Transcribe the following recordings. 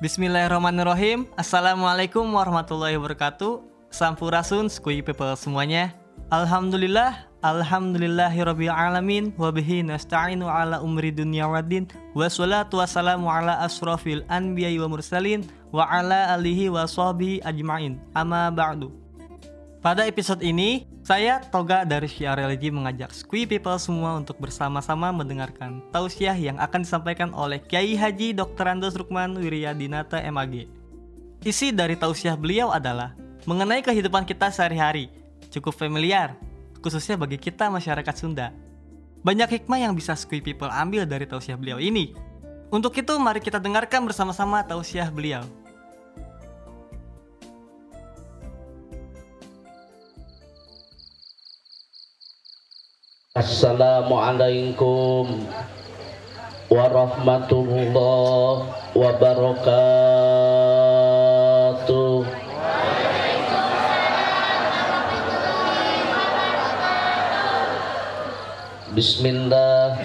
Bismillahirrahmanirrahim. Assalamualaikum warahmatullahi wabarakatuh. Sampurasun skui people semuanya. Alhamdulillahirabbil alamin wa bihi nasta'inu ala umri dunya waddin. Wassalatu wassalamu ala asrofil anbiya'i wa mursalin wa ala alihi wa sahbihi ajma'in. Amma ba'du. Pada episode ini, saya Toga dari Syiar Religi mengajak Skui People semua untuk bersama-sama mendengarkan tausiah yang akan disampaikan oleh Kiai Haji Dr. Andos Rukman Wiryadinata MAG. Isi dari tausiah beliau adalah mengenai kehidupan kita sehari-hari, cukup familiar, khususnya bagi kita masyarakat Sunda. Banyak hikmah yang bisa Skui People ambil dari tausiah beliau ini. Untuk itu, mari kita dengarkan bersama-sama tausiah beliau. Assalamualaikum warahmatullahi wabarakatuh. Bismillah.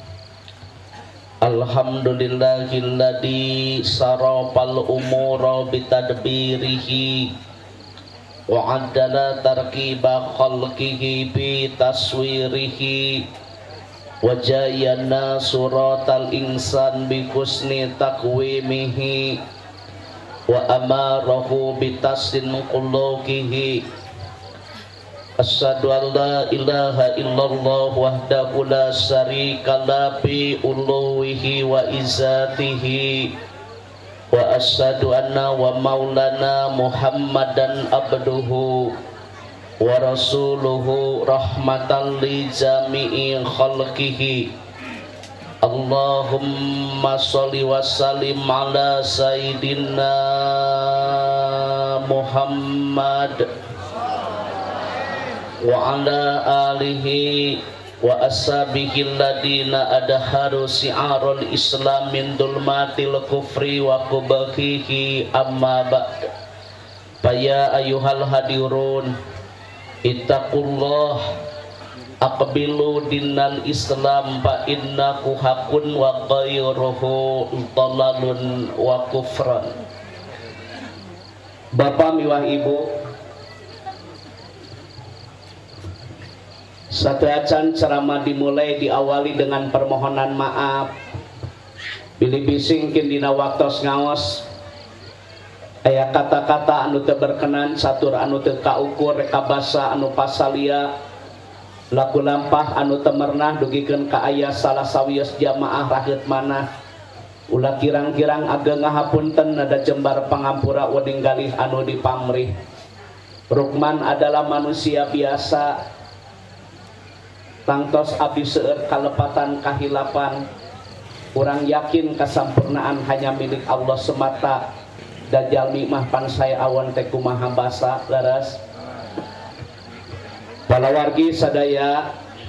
Alhamdulillahilladzi sarafal umura bitadbirihi wa addala tarkiba khalqihi bi taswirihi wa jayyana suratal insan bi husni taqwimihi wa amarahu bi tasdin quluqihi. Asyhadu an la ilaha illallah wahdahu la syarika la bi uluhihi wa izzatihi wa asyhadu anna wa maulana Muhammadan abduhu wa rasuluhu rahmatan li jami'i khalqihi. Allahumma sholli wa sallim ala sayyidina Muhammad wa ala alihi wa ashabihi alladina adharu si'arul islam min dulmatil kufri wa kubahihi amma ba'd. Faya ayuhal hadirun ittaqullah aqbilu dinal islam fa innahu hakun wa ghayruhu dhalalun wa kufran. Bapak miwah ibu, satu acan ceramah dimulai diawali dengan permohonan maaf. Bilih bisingkin dina waktos ngaos aya kata-kata anu teu berkenan, satur anu teu kaukur, reka basa anu pasalia, laku lampah anu teu meunah dugikeun ka aya salah sawios jamaah raheut manah. Ulah kirang-kirang ageng ngahapunten nada jembar pangampura wening galih anu dipamrih. Rukman adalah manusia biasa, tangtos abdi seueur kalepatan kahilapan. Urang yakin kasampurnaan hanya milik Allah semata. Da jalmi mah pan saya awan teh kumaha basa leres. Palawargi sadaya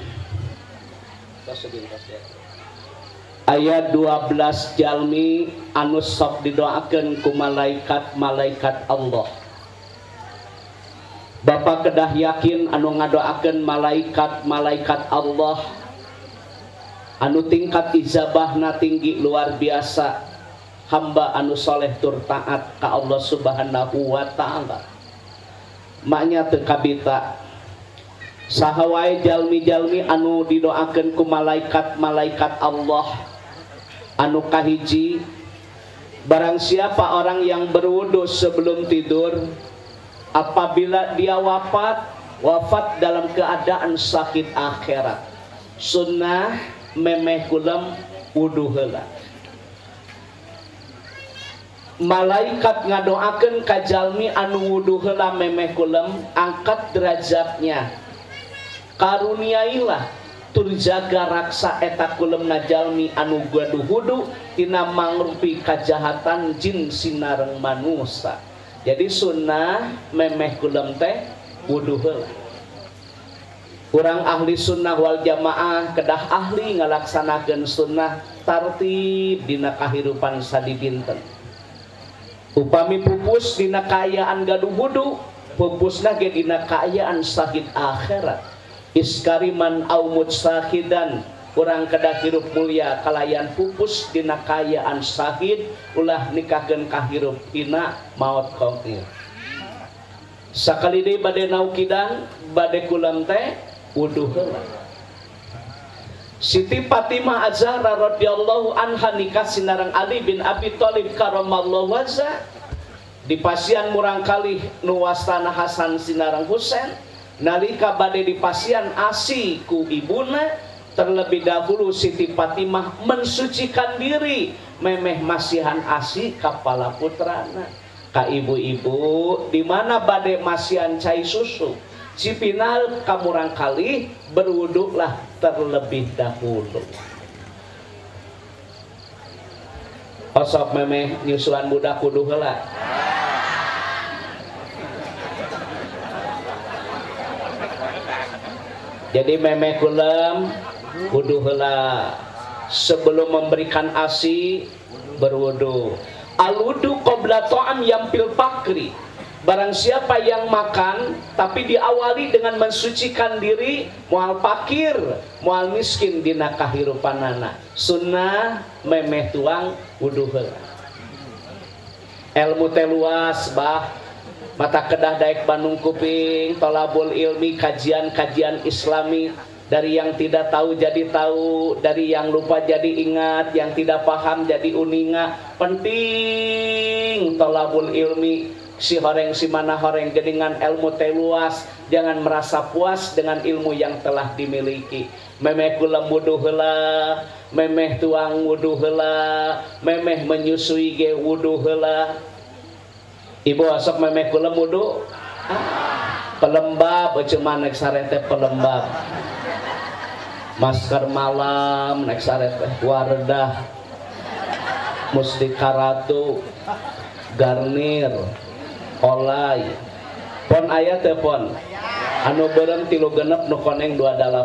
ayat 12 jalmi anu sok didoakeun ku malaikat-malaikat Allah. Bapak kedah yakin anu ngadoakeun malaikat-malaikat Allah anu tingkat ijabahna tinggi luar biasa, hamba anu soleh tur taat ka Allah subhanahu wa ta'ala. Maknya teu kabita saha wae jalmi-jalmi anu didoakeun ku malaikat-malaikat Allah anu kahiji, barang siapa orang yang berwudu sebelum tidur, apabila dia wafat dalam keadaan sakit akhirat, sunnah memeh kulam wudu heula. Malaikat ngadoakeun ka jalmi anu wudu heula memeh kulam, angkat derajatnya, karuniailah tur jaga raksa eta kulemna jalmi anu gaduh wudu tina mangrupi kajahatan jin sinareng manusia. Jadi sunnah memeh kulem teh wudu heula. Urang ahli sunnah wal jamaah kedah ahli ngalaksanakeun sunnah tartib dina kahirupan sadibinten. Upami pupus dina kaayaan gaduh wudu, pupusna ge dina kaayaan sakit akhirat. Iskariman au mutsahidan urang kedah hirup mulia kalayan pupus dina kayaan syahid ulah nikahkeun kahirup hina maut qauil. Sakali deui bade naukidang bade kulam teh wudu heula. Siti Fatimah Az-Zahra radhiyallahu anha nikah sinareng Ali bin Abi Thalib karamallahu wajha di pasian murang kalih nu wastana Hasan sinareng Husain nalika bade di pasian asi ku ibuna. Terlebih dahulu Siti Fatimah mensucikan diri memeh masihan asi kepala putrana ka ibu-ibu di mana bade masihan cai susu cipinal kamurang kali berwuduklah terlebih dahulu. Osok memeh nyusuan budak kudu heula. Jadi memeh kulem wudu heula sebelum memberikan asi berwudu. Al-wudu qabla ta'am yampil fakri. Barang siapa yang makan tapi diawali dengan mensucikan diri moal fakir, moal miskin dina kahirupanana. Sunnah memeh tuang wudu heula. Ilmu teh luas bah. Mata kedah daek Bandung Kuping, tolabul ilmi, kajian-kajian Islami. Dari yang tidak tahu jadi tahu, dari yang lupa jadi ingat, yang tidak paham jadi uninga. Penting tolabul ilmi, si horeng si mana horeng geningan ilmu teh luas. Jangan merasa puas dengan ilmu yang telah dimiliki. Memeh kulam wudu heula, memeh tuang wudu heula, memeh menyusui ge wudu heula. Ibu asok memeh kulam wudu pelembab cuman nek sarete pelembab. Masker malam nek sarete Wardah Mustika Ratu Garnir Olay pon aya teh pon anu beureum 3 nu koneng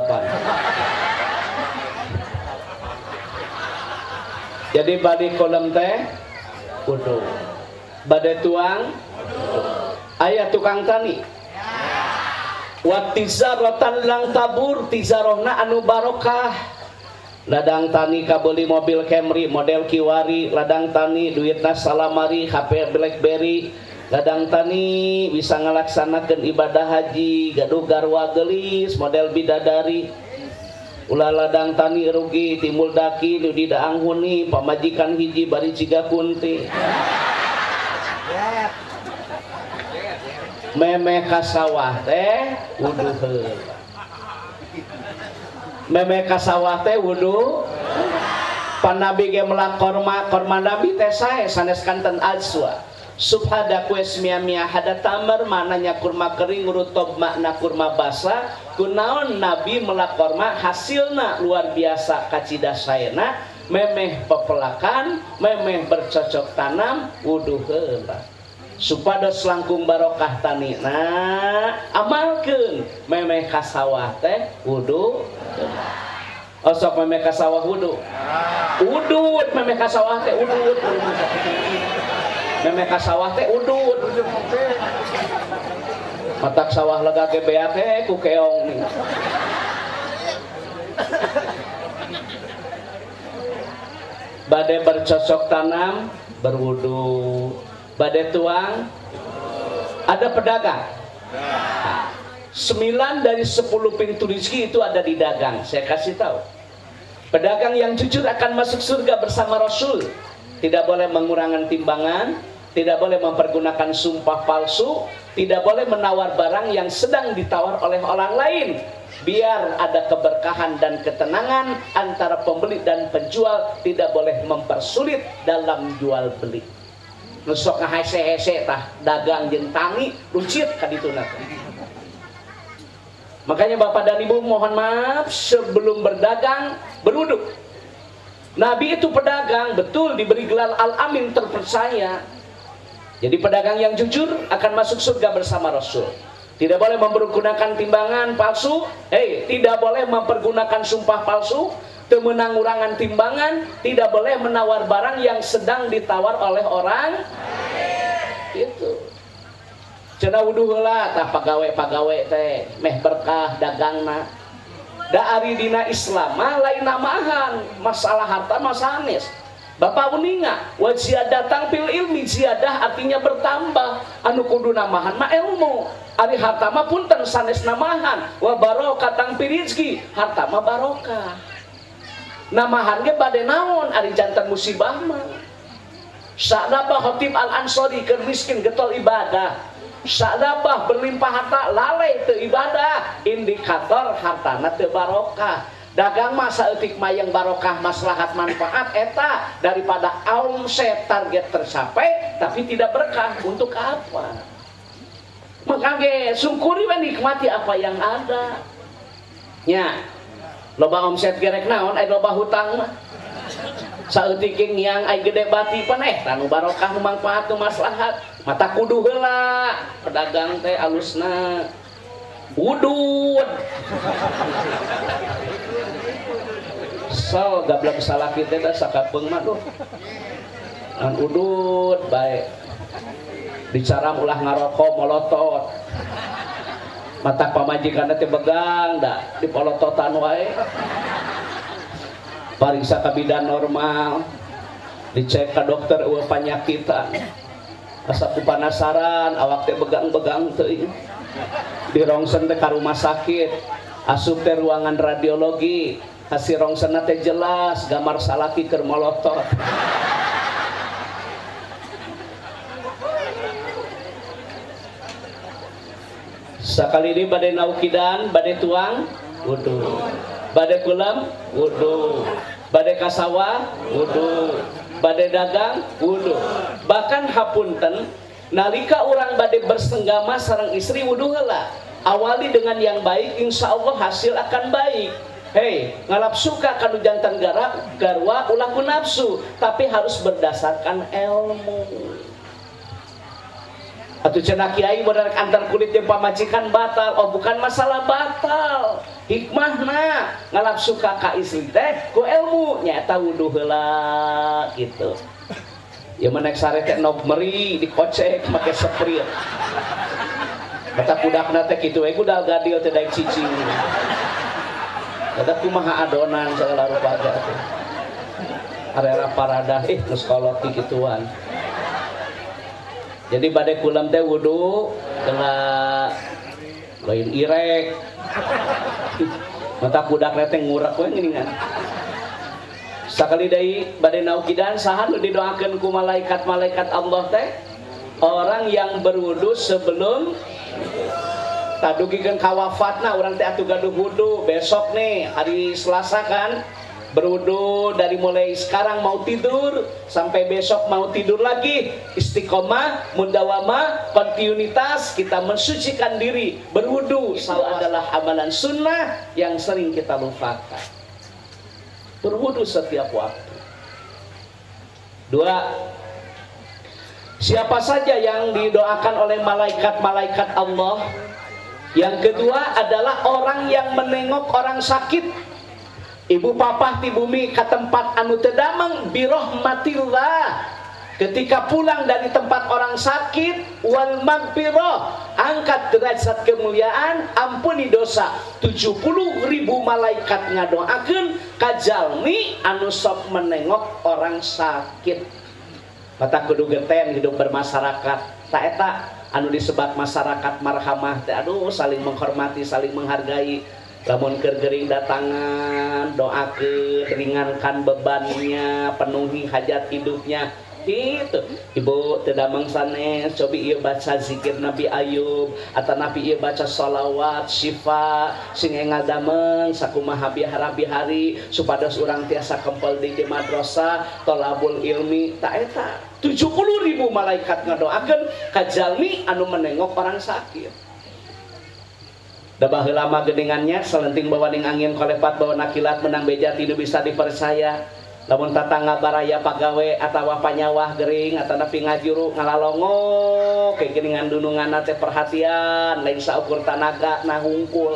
28. Jadi bade kolam teh wudu bade tuang aya tukang tani wa tizaratan lang tabur tizarohna anu barokah. Ladang tani kabeli mobil Camry model Kiwari, ladang tani duitna salamari HP BlackBerry, ladang tani bisa ngalaksanakeun ibadah haji gaduh garwa geulis model bidadari. Ulah ladang tani rugi timul daki nu didaang huni pamajikan hiji bari ciga kunti. Memeh ka sawah teh wudu heula. Memeh ka sawah teh wudu. Panabi ge melak korma nabi teh sae sanes kanten azwa. Subhada kue mia hada tamar mananya kurma kering rutob makna kurma basa. Kunaon nabi melak korma hasilna luar biasa kacida saena. Memeh pepelakan, memeh bercocok tanam wudu heula. Supados langkung barokah tanina amalkeun memeh ka sawah teh wudu. Osok memeh ka sawah wudu. Udud memeh ka sawah teh udud. Memeh ka sawah teh udud. Matak sawah lega ge bea teh ku keong nih. Bade bercocok tanam berwudu. Bade tuang ada pedagang. 9 dari 10 pintu rezeki itu ada di dagang. Saya kasih tahu. Pedagang yang jujur akan masuk surga bersama Rasul. Tidak boleh mengurangi timbangan, tidak boleh mempergunakan sumpah palsu, tidak boleh menawar barang yang sedang ditawar oleh orang lain. Biar ada keberkahan dan ketenangan antara pembeli dan penjual, tidak boleh mempersulit dalam jual beli. Nusok ngahese-hese tah dagang jeung tangi lucit ka dituna. Makanya Bapak dan Ibu mohon maaf sebelum berdagang berwudu. Nabi itu pedagang betul diberi gelar Al-Amin terpercaya. Jadi pedagang yang jujur akan masuk surga bersama Rasul. Tidak boleh mempergunakan timbangan palsu, tidak boleh mempergunakan sumpah palsu, menangurangan timbangan, tidak boleh menawar barang yang sedang ditawar oleh orang. Itu. Cenah wudu heula tah pagawe-pagawe teh meh berkah dagangna. da ari dina Islam mah lain namahan masalah harta mah sanes. Bapak uninga wa ziyadatang fil ilmi, ziyadah artinya bertambah, anu kudu namahan mah ilmu. Ari harta mah punten sanes namahan, wa barokatang fil rizki, harta mah barokah. Namahan ge bade naon ari janten musibah mah. Sa'dabah Khatib Al-Ansari keur miskin getol ibadah. Sa'dabah berlimpah harta lalai teu ibadah, indikator hartana teu barokah. Dagang mah saeutik mah yang barokah maslahat manfaat eta daripada omset target tercapai tapi tidak berkah, untuk apa? Makanya syukuri we nikmati apa yang ada. Nya loba omset gerek naon aya loba hutang mah. Saeutik yang ai gede bati pan tanu barokah nu manfaat nu maslahat. Mata kudu heula pedagang teh alusna udud. So gablek salaki teh da sakapeung mah tuh. Ngan udud bae. Dicaram ulah ngarokok molotot. Mata pamajikanna teh begang da dipolototan wae. Pariksa ka bidan normal. Dicek ka dokter eueuh panyakitan. Asa ku panasaran awak teh begang-begang teuing. Dirongsen teh ka rumah sakit. Asup teh ruangan radiologi. Hasil rongsen teh jelas gambar salaki keur molotot. Sakali ini bade naukidan, bade tuang, wudu. Bade kulam, wudu. Bade kasawa, wudu. Bade dagang, wudu. Bahkan hapunten nalika urang bade bersenggama sareng istri wudu heula. Awali dengan yang baik, insya Allah hasil akan baik. Hei, ngalap suka kanu jantan garwa ulah ku nafsu, tapi harus berdasarkan ilmu. Atuh cenah kiai bener antar kulit jeung pamajikan batal, oh bukan masalah batal. Hikmahna ngalap suka ka istri teh ku ilmu nyaeta wudu heula gitu. Ya menek sare teh nog meri dikocek make sprit. Kata budakna teh kitu we budal gadil teh daek cicing. Kata kumaha adonan segala rupa aja teh. Arera paradah geus kolot kituan. Jadi bade kulam teh wudu telah lain irek. Mata budak teh ngurek we geuningan. Sakali deui bade naukidan saha nu didoakeun ku malaikat-malaikat Allah teh? Orang yang berwudu sebelum tadugikeun ka wafatna urang teh atuh gaduh wudu besok nih hari Selasa kan berwudu dari mulai sekarang mau tidur sampai besok mau tidur lagi, istiqomah, mudawamah, kontinuitas kita mensucikan diri berwudu. Salah adalah amalan sunnah yang sering kita lupakan. Berwudu setiap waktu. 2. Siapa saja yang didoakan oleh malaikat-malaikat Allah. Yang kedua adalah orang yang menengok orang sakit. Ibu papa di bumi ke tempat anu tedamang birahmatillah. Ketika pulang dari tempat orang sakit, wal magfirah, angkat derajat kemuliaan, ampuni dosa. 70.000 malaikat ngadoakeun kajalmi anu sok menengok orang sakit. Mata kudu geten hidup bermasyarakat. Tak eta anu disebat masyarakat marhamah teh, aduh saling menghormati, saling menghargai. Lamun keur gering datangan, doakeun, ringankan bebannya, penuhi hajat hidupnya. Gitu. Ibu teu damang sanes, cobi ieu baca zikir Nabi Ayub, atanapi ieu baca sholawat syifa sing ngadameng sakumaha bihara-bihari supados urang tiasa kempel di madrasah tolabul ilmi. Tak eta 70.000 malaikat ngadoakeun ka jalmi anu menengok orang sakit. Da baheula mah geuningannya salenting bawa ning angin kolepat bawa nakilat menang beja tidak bisa dipercaya. Lamun tatangga baraya pagawe atawa panyawah gering atau napi ngajuru ngalalongo kayak geuningan dununganna teh perhatian lain saukur tanaga nah hungkul.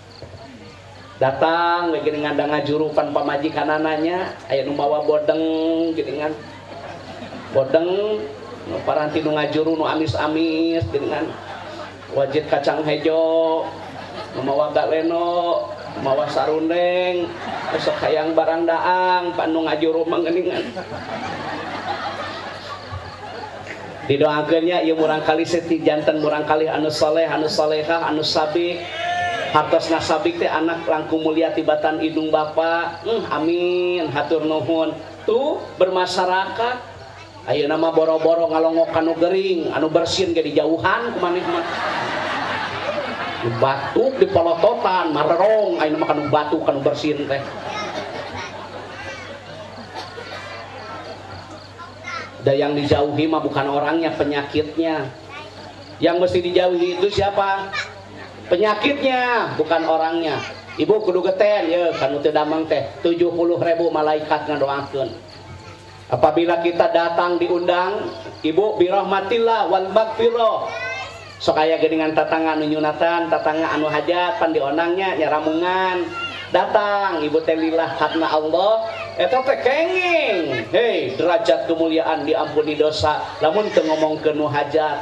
Datang we geuningan da ngajuru pan pamajikanananya aya nu bawa bodeng geuningan. Bodeng nu paranti nu ngajuru nu amis-amis geuningan. Wajit kacang hejo memawa galeno mawa sarundeng besok hayang barang daang panu ngajuru mangeningan didoakeunnya ieu murang kali seti janten murang kali anu saleh anu salehah anu sabik hartosna sabik teh anak langkung mulia tibatan idung bapa amin hatur nuhun tuh bermasyarakat ayeuna mah boro-boro ngalongok anu gering anu bersin ge dijauhan kumaneh mah batuk di polototan marerong ayeuna mah kanu batuk kanu bersin teh dan yang dijauhi mah bukan orangnya penyakitnya yang mesti dijauhi itu siapa penyakitnya bukan orangnya ibu kudu geten ya kanu teu damang teh 70.000 malaikat ngadoakeun apabila kita datang diundang ibu birahmatillah wal magfirah sok aya geuningan tatangga anu nyunatan tatangga anu hajat pan diondangnya nyaramungan datang ibu teh lillah karena Allah eta teh kenging hei derajat kemuliaan diampuni dosa lamun teu ngomongkeun nu hajat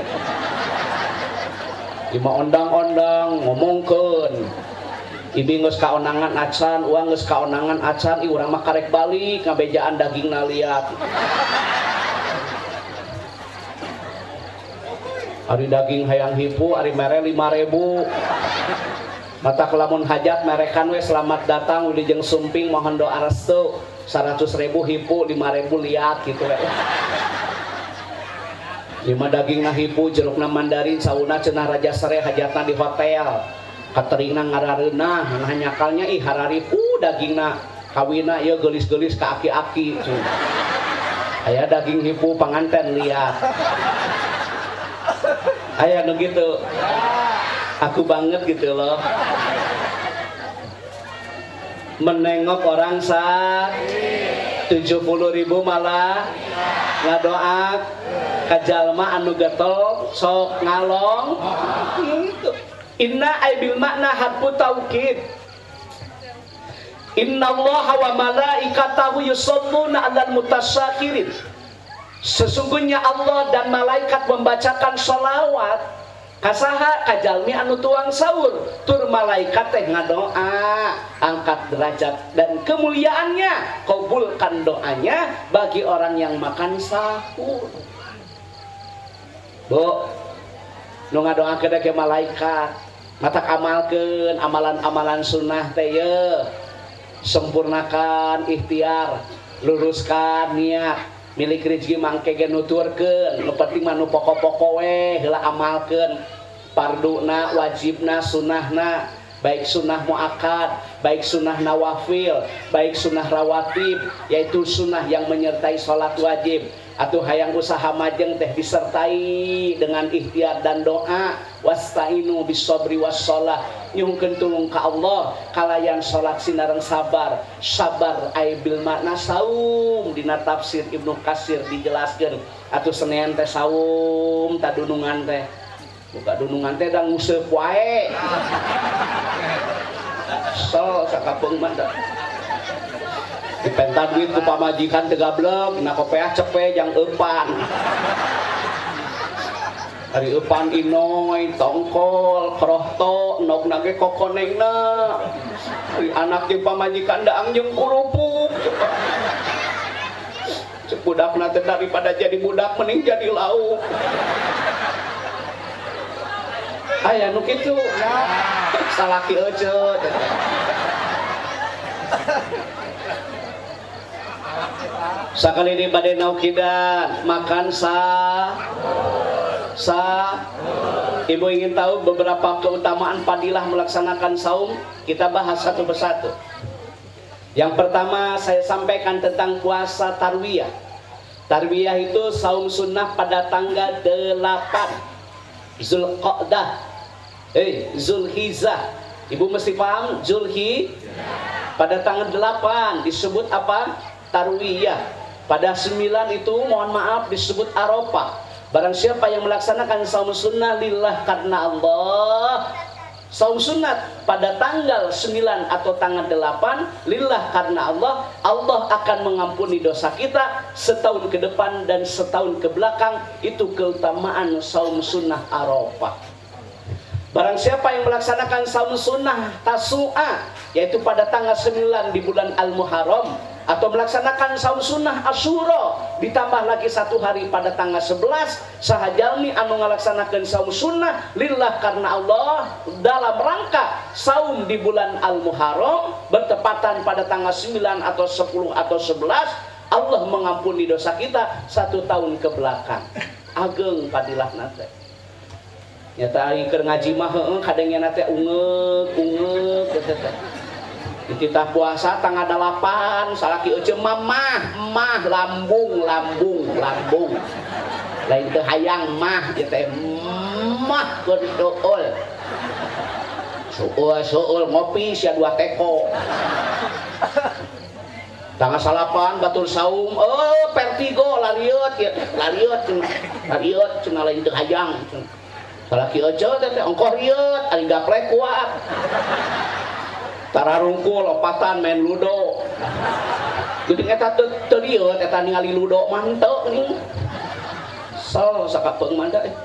lima ondang-ondang ngomongkeun ibi geus kaonangan acan uang geus kaonangan acan urang mah karek balik ngabejaan dagingna liat ari daging hayang hipu ari mere 5.000 mata kelamun hajat merekan we selamat datang wilujeng sumping mohon doa restu 100.000 hipu 5.000 liat gitu we 5 daging na hipu jerukna mandarin sauna cenah raja sere hajatna di hotel kateringna ngarareunah nah nyakalnya ih harari dagingna kawina ieu geulis-geulis ka aki-aki aya daging hipu panganten liat aya nu gitu aku banget gitu loh menengok orang sakit 70.000 malah ngadoa kajalma anu getol sok ngalong gitu inna aibil makna harfu taukid innallaha wa malaikatahu yusholluna 'alal mutasyakirin sesungguhnya Allah dan malaikat membacakan sholawat kasaha kajalmi anu tuang sahur tur malaikat teh ngadoa angkat derajat dan kemuliaannya kabulkan doanya bagi orang yang makan sahur bu nu ngadoakeun ke malaikat matak amalkeun amalan-amalan sunnah teh ye sempurnakan ikhtiar luruskan niat milik rezeki mangke ge nuturkeun nu penting mah nu pokok-pokok we heula amalkeun farduna wajibna sunnahna baik sunnah muakkad baik sunnah nawafil baik sunnah rawatib yaitu sunnah yang menyertai salat wajib atuh hayang usaha majeng teh disertai dengan ikhtiar dan doa wasta'inu bisobri wassalah nyuhkeun tulung ka Allah kalayan salat sinareng sabar sabar ai bil makna saum dina tafsir Ibnu Katsir dijelaskeun atuh Senin teh saum tadunungan teh buka dunungan teh da nguseup wae so sakapeung mah dipenta duit ku pamajikan teu gablek na kopeah cepe jang eupan ari eupan inoy tongkol krohto nokna ge kokonengna ari anak jeung pamajikan daang jeung kurupuk cek budakna teh daripada jadi budak mending jadi lauk aya nu kitu salaki euceut sakali di bade naukidan makan ibu ingin tahu beberapa keutamaan fadilah melaksanakan saum kita bahas satu persatu. Yang pertama saya sampaikan tentang puasa tarwiyah. Tarwiyah itu saum sunnah pada tanggal 8 Zulqa'dah Zulhijjah. Ibu mesti paham pada tanggal 8 disebut apa? Tarwiyah. Pada 9 itu mohon maaf disebut Arafah. Barang siapa yang melaksanakan saum sunnah lillah karena Allah, saum sunat pada tanggal 9 atau tanggal 8 lillah karena Allah, Allah akan mengampuni dosa kita setahun ke depan dan setahun ke belakang. Itu keutamaan saum sunnah Arafah. Barang siapa yang melaksanakan saum sunnah Tasu'a, yaitu pada tanggal 9 di bulan Al-Muharram, atau melaksanakan saum sunnah Asyura ditambah lagi 1 hari pada tanggal 11, sahajalmi anu ngalaksanakeun saum sunnah lillah karena Allah dalam rangka saum di bulan Al-Muharram bertepatan pada tanggal 9 atau 10 atau 11, Allah mengampuni dosa kita 1 tahun ke belakang. Ageng padilah nate. Nyata ari keur ngaji mah heueuh kadengnya nate ungek dititah puasa tanggal 8 salaki euceum mah lambung lain teu hayang mah ieu teh mah keur suul ngopi sia 2 teko tanggal 8 batur saum vertigo lariut cenah lain teu hayang salaki aja teh ongkoh rieut ari gaplek kuat tararungkul lopatan main ludo geuning eta teu rieut eta ningali ludo mah henteu geuning sel sakapeung mah da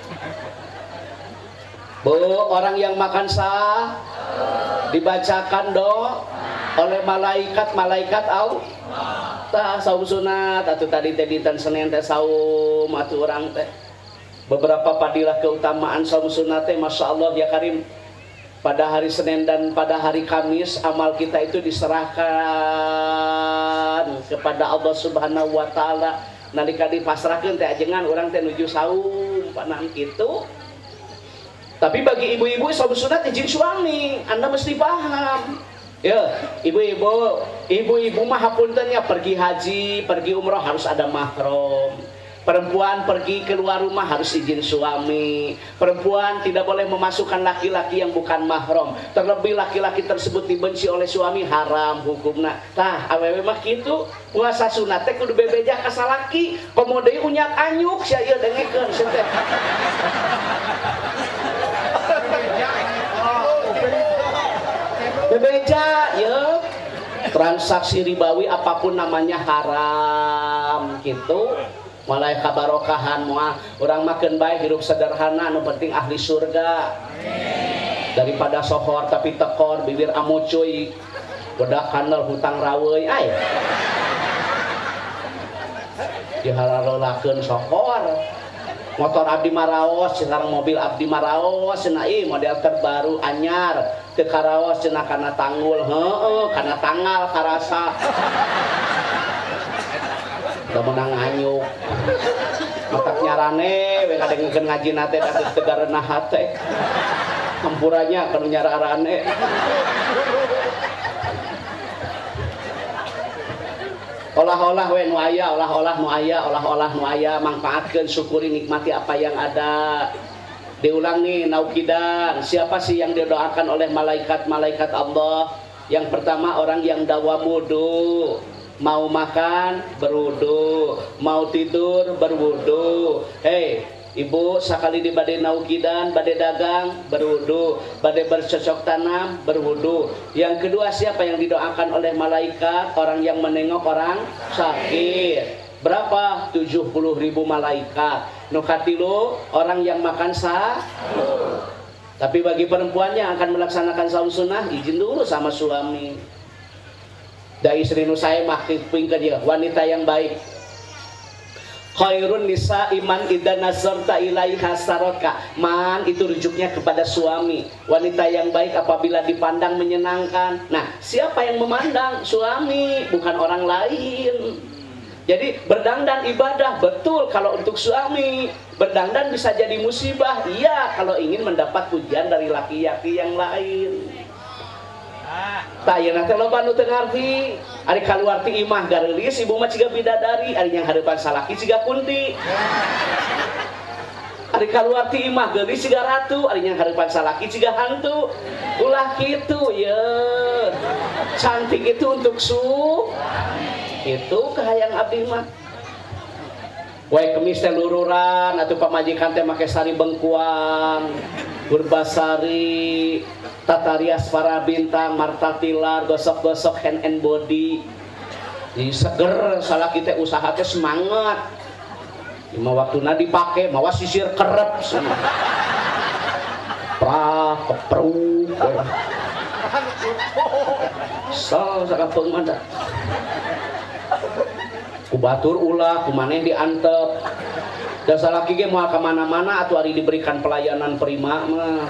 orang yang makan sah dibacakan oleh malaikat Allah tah saum sunat atuh tadi teh dinten Senin teh saum atuh urang teh beberapa padilah keutamaan saum sunat teh Masya Allah ya Karim. Pada hari Senin dan pada hari Kamis amal kita itu diserahkan kepada Allah Subhanahu wa taala. Nalika dipasrahkeun teh ajengan urang teh nuju saum panang kitu. Tapi bagi ibu-ibu saum sunat izin suami, Anda mesti paham. Ya, ibu-ibu mah hapunten ya pergi haji, pergi umroh harus ada mahram. Perempuan pergi keluar rumah harus izin suami. Perempuan tidak boleh memasukkan laki-laki yang bukan mahram. Terlebih laki-laki tersebut dibenci oleh suami, haram hukumna. Tah awewe mah kitu, puasa sunat teh kudu bebeja ka salaki. Komo deui unyak anyuk sia ieu dengekeun teh. Bebeja ya. Transaksi ribawi apapun namanya haram gitu. Mulai kabarokahan moal urang makan baik hidup sederhana anu penting ahli surga daripada sohor tapi tekor bibir amocoy udah kanal hutang rawei ay dihalalolakeun sohor motor abdi maraos sekarang mobil abdi maraos cenah model terbaru anyar teu karaos cenah kana tanggul kana tanggal karasa udah menang anyuk matak nyarane we kadengkeun ngaji nate atuh tegareunah hate hampuranya kana nyararane olah-olah we nu aya olah-olah nu aya manfaatkeun syukuri nikmati apa yang ada. Diulang nih naukidan, siapa sih yang didoakan oleh malaikat-malaikat Allah? Yang pertama orang yang dawam wudu. Mau makan berwudu, mau tidur berwudu. Hei ibu sakali di bade naukidan, bade dagang berwudu, bade bercocok tanam berwudu. Yang kedua siapa yang didoakan oleh malaikat? Orang yang menengok orang sakit. Berapa? 70.000 malaikat. Nu katilu orang yang makan sahur. Tapi bagi perempuan yang akan melaksanakan saum sunnah izin dulu sama suami. Da istri nu sae mah pingkeun dia wanita yang baik. Khairun nisa iman idza nazarta ilaiha saraka. Man itu rujuknya kepada suami. Wanita yang baik apabila dipandang menyenangkan. Nah, siapa yang memandang? Suami, bukan orang lain. Jadi berdandan ibadah betul kalau untuk suami. Berdandan bisa jadi musibah. Iya, kalau ingin mendapat pujian dari laki-laki yang lain. Tak ya nanti loba nu teu ngarti ari kaluar ti imah gareulis ibu mah ciga bidadari ari yang hareupan salaki ciga kunti ari kaluar ti imah geulis ciga ratu ari yang hareupan salaki ciga hantu ulah kitu ye cantik itu untuk itu kahayang abdi mah wae kemis teh lururan atuh pamajikan teh make sari bengkuang Burbasari, Tatarias para bintang, Marta Tilar, gosok-gosok hand and body. Jadi seger, salah kita usaha teh semangat. Lima waktuna dipake, mawa sisir kerep. keprak kepruk sal sakapeung mah ku batur ulah ku maneh diantep dan salaki ge moal ka mana-mana atuh ari diberikan pelayanan prima mah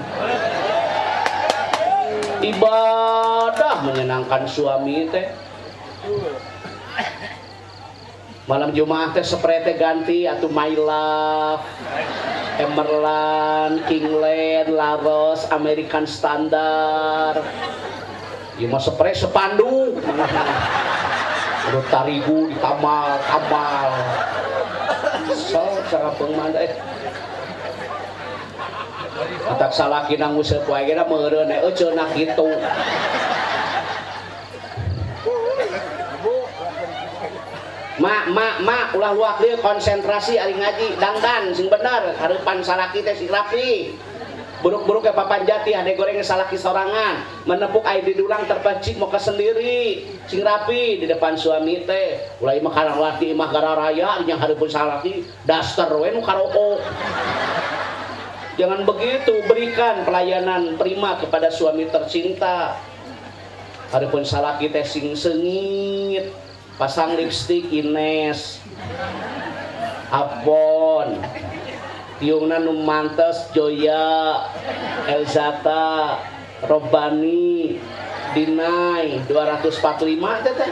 ibadah menyenangkan suami teh malam Jumat teh spray teh ganti atuh My Love, Emerald, Kingland, Laros, American Standard. Ieu mah spray sepandu. Udah tarigu ditamal. So sarapeung mah teh. Atak salakina nguseup wae ge da meureun cenah kitu. Mak, ulah luak dia konsentrasi ari ngaji dangdan sing bener hareupan salaki teh sing rapi buruk-buruk ke papan jati ade goreng salaki sorangan menepuk air di dulang terpacik mau ke sendiri sing rapi di depan suami teh ulah imah karawati imah gararaya yang hareupeun salaki daster we nu karoko jangan begitu berikan pelayanan prima kepada suami tercinta hareupeun salaki teh sing sengit pasang lipstik Ines Avon tiungna nu mantes Joya Elzata Robani Dinai 245 teh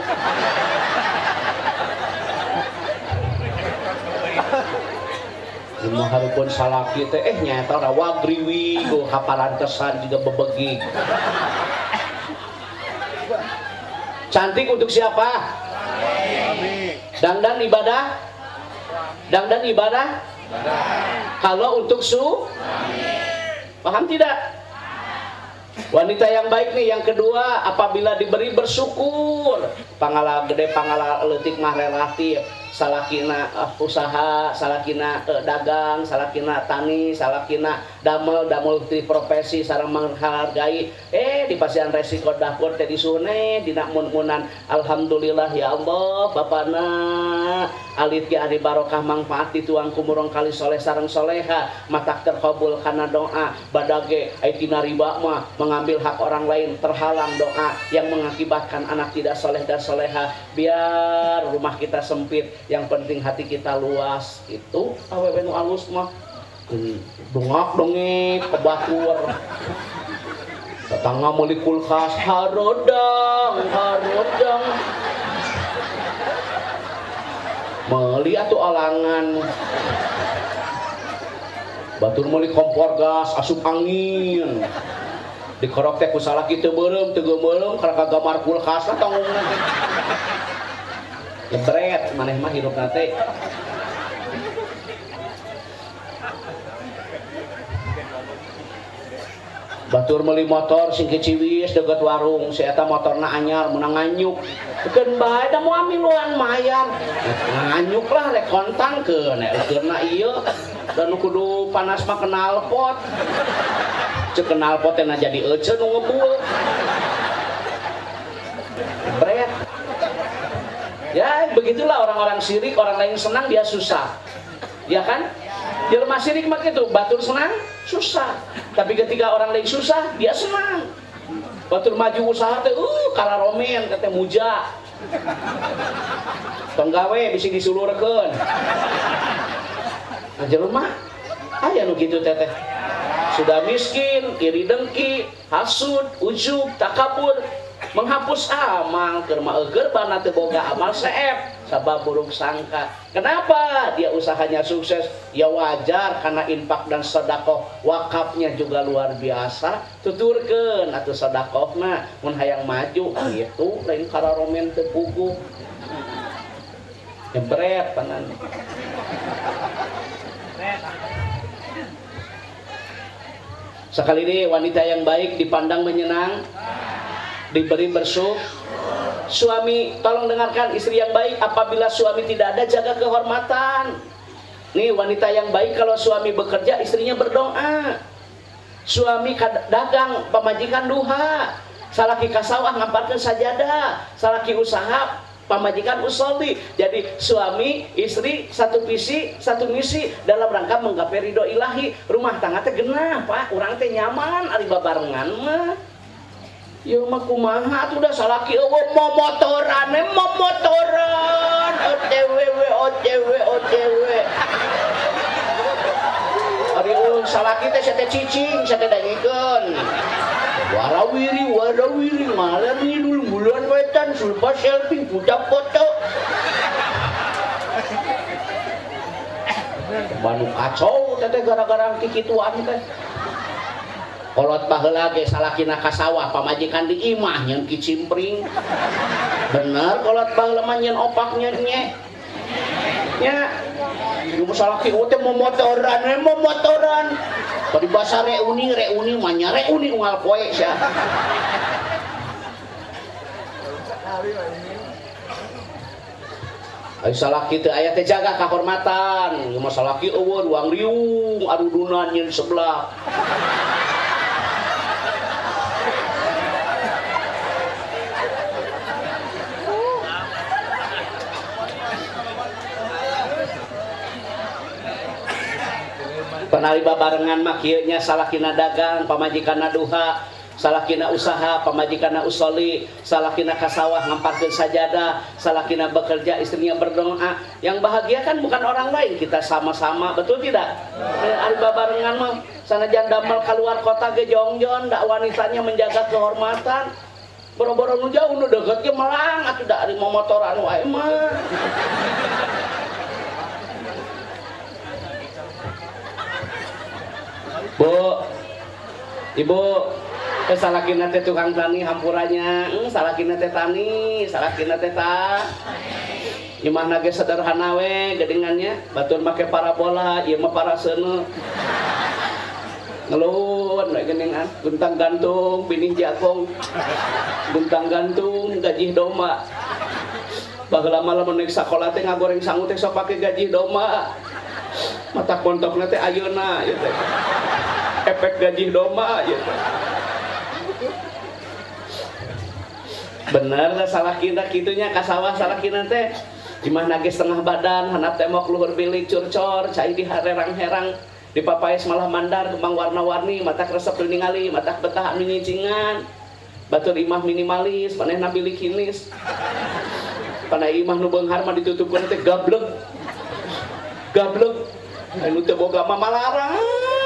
Imah harupun salaki teh nyata da wagriwi go kaparantesan juga bebegik cantik untuk siapa? Dangdan ibadah? Dangdan ibadah? Kalau untuk paham tidak? Wanita yang baik nih yang kedua apabila diberi bersyukur pangala gede pangala leutik mah relatif salakina usaha salakina dagang salakina tani salakina damel ti profesi sareng menghargai di pasian resiko dapur teh disune dina mun-munan alhamdulillah ya Allah bapana alit ge ari barokah manfaat dituang kumurong kali soleh sareng soleha matak terkabul kana doa badage ai tina riba mah mengambil hak orang lain terhalang doa yang mengakibatkan anak tidak soleh dan soleha biar rumah kita sempit yang penting hati kita luas itu awewe nu alus mah dongak dongek kebatur tetangga meuli kulkas harodang meuli atuh alangan batur meuli kompor gas asup angin dikorok teh ku salaki teu beureum teu geumeuleum karena kagamar kulkasna tangungna teh jebret maneh mah hirupna teh batur meuli motor sing keciwis deukeut warung si eta motorna anyar meunang nganyuk keun bae da moal miluan mayar nganyuk lah rek kontangkeun eukeurna ieu dan nu kudu panas mah knalpot ceuk knalpot teh na jadi euceun nu ngebul bret ya begitulah orang-orang syirik orang lain senang dia susah ya kan jelema syirik mah kitu batur senang susah tapi ketika orang lain susah dia senang batur maju usaha teh kalaromen teh muja penggawe bisi disulurkeun nah jelema aya nu kitu teh sudah miskin iri dengki hasud ujub takabur menghapus amal keur mah eueur bana teu boga amal seep sabab buruk sangka kenapa dia usahanya sukses ya wajar karena infak dan sedekah wakafnya juga luar biasa tuturkeun atuh sedekahna mun hayang maju kitu lain kararomen teu puguh jebret panan sekali ini wanita yang baik dipandang menyenang diberi bersyukur suami tolong dengarkan istri yang baik apabila suami tidak ada jaga kehormatan nih wanita yang baik kalau suami bekerja istrinya berdoa suami dagang pemajikan duha salaki kasawah ngamparkeun sajadah salaki usaha pamajikan usolli. Jadi suami istri satu visi satu misi dalam rangka menggapai ridho ilahi. Rumah tangga teh genah Pak, urang teh nyaman ari babarengan mah. Yo mah kumaha atuh da salaki eueuh momotoran OTW. Ari salaki teh sate cicing sate dangikeun. Warawiri malam ngidul bulan wetan sulpa selfie pudak foto. Banu kacau teh gara-gara kikituan teh. Kolot baheula ge salakina ka sawah pamajikan di imah nyeun kicimpring. Bener kolot baheula mah nyeun opaknya nya. Nya ieu salaki teh momotoran. Bari basa reuni mah nya reuni unggal poe sia. Ai salaki teh aya teh jaga kahormatan. Ieu mah salaki eueuh ruang riung adudunan nyeun sebelah. Panari babarengan mah kieu nya salakina dagang pamajikanna duha, salakina usaha pamajikanna usolli, salakina ka sawah ngamparkeun sajadah, salakina bekerja istrinya berdoa. Yang bahagia kan bukan orang lain, kita sama-sama, betul tidak? Ari babarengan mah sanajan damel keluar kota ge jongjon, da wanitanya menjaga kehormatan. Boro-boro nu jauh nu deukeut ge melang atuh da ari momotoran wae mah. Bu, Ibu, salakina teh tukang tani hampuranya, salakina teh tani, salakina teh tah. Imahna ge sederhana we gedengannya, batur make parabola, ieu mah paraseuneu. Ngeluhun we geningan, guntang gantung, binih jakong. Guntang gantung, gaji domba. Baheula mah lamun neuk sakola teh ngagoreng sangu teh sok pake gaji domba. Mata kontokna teh ayeuna ieu teh. Efek gaji domba ieu teh. Bener lah salakina kitunya ka sawah salakina teh. Imahna ge setengah badan, handap teh mok luhur bilik curcor, cai di herang-herang, dipapaes malah mandar kembang warna-warni, mata kresep teu ningali, mata betah anu nyicingan. Batur imah minimalis, manehna bilik hinis. Pana imah nu beunghar mah ditutupkeun teh gablek. Anu teu boga mah malarang.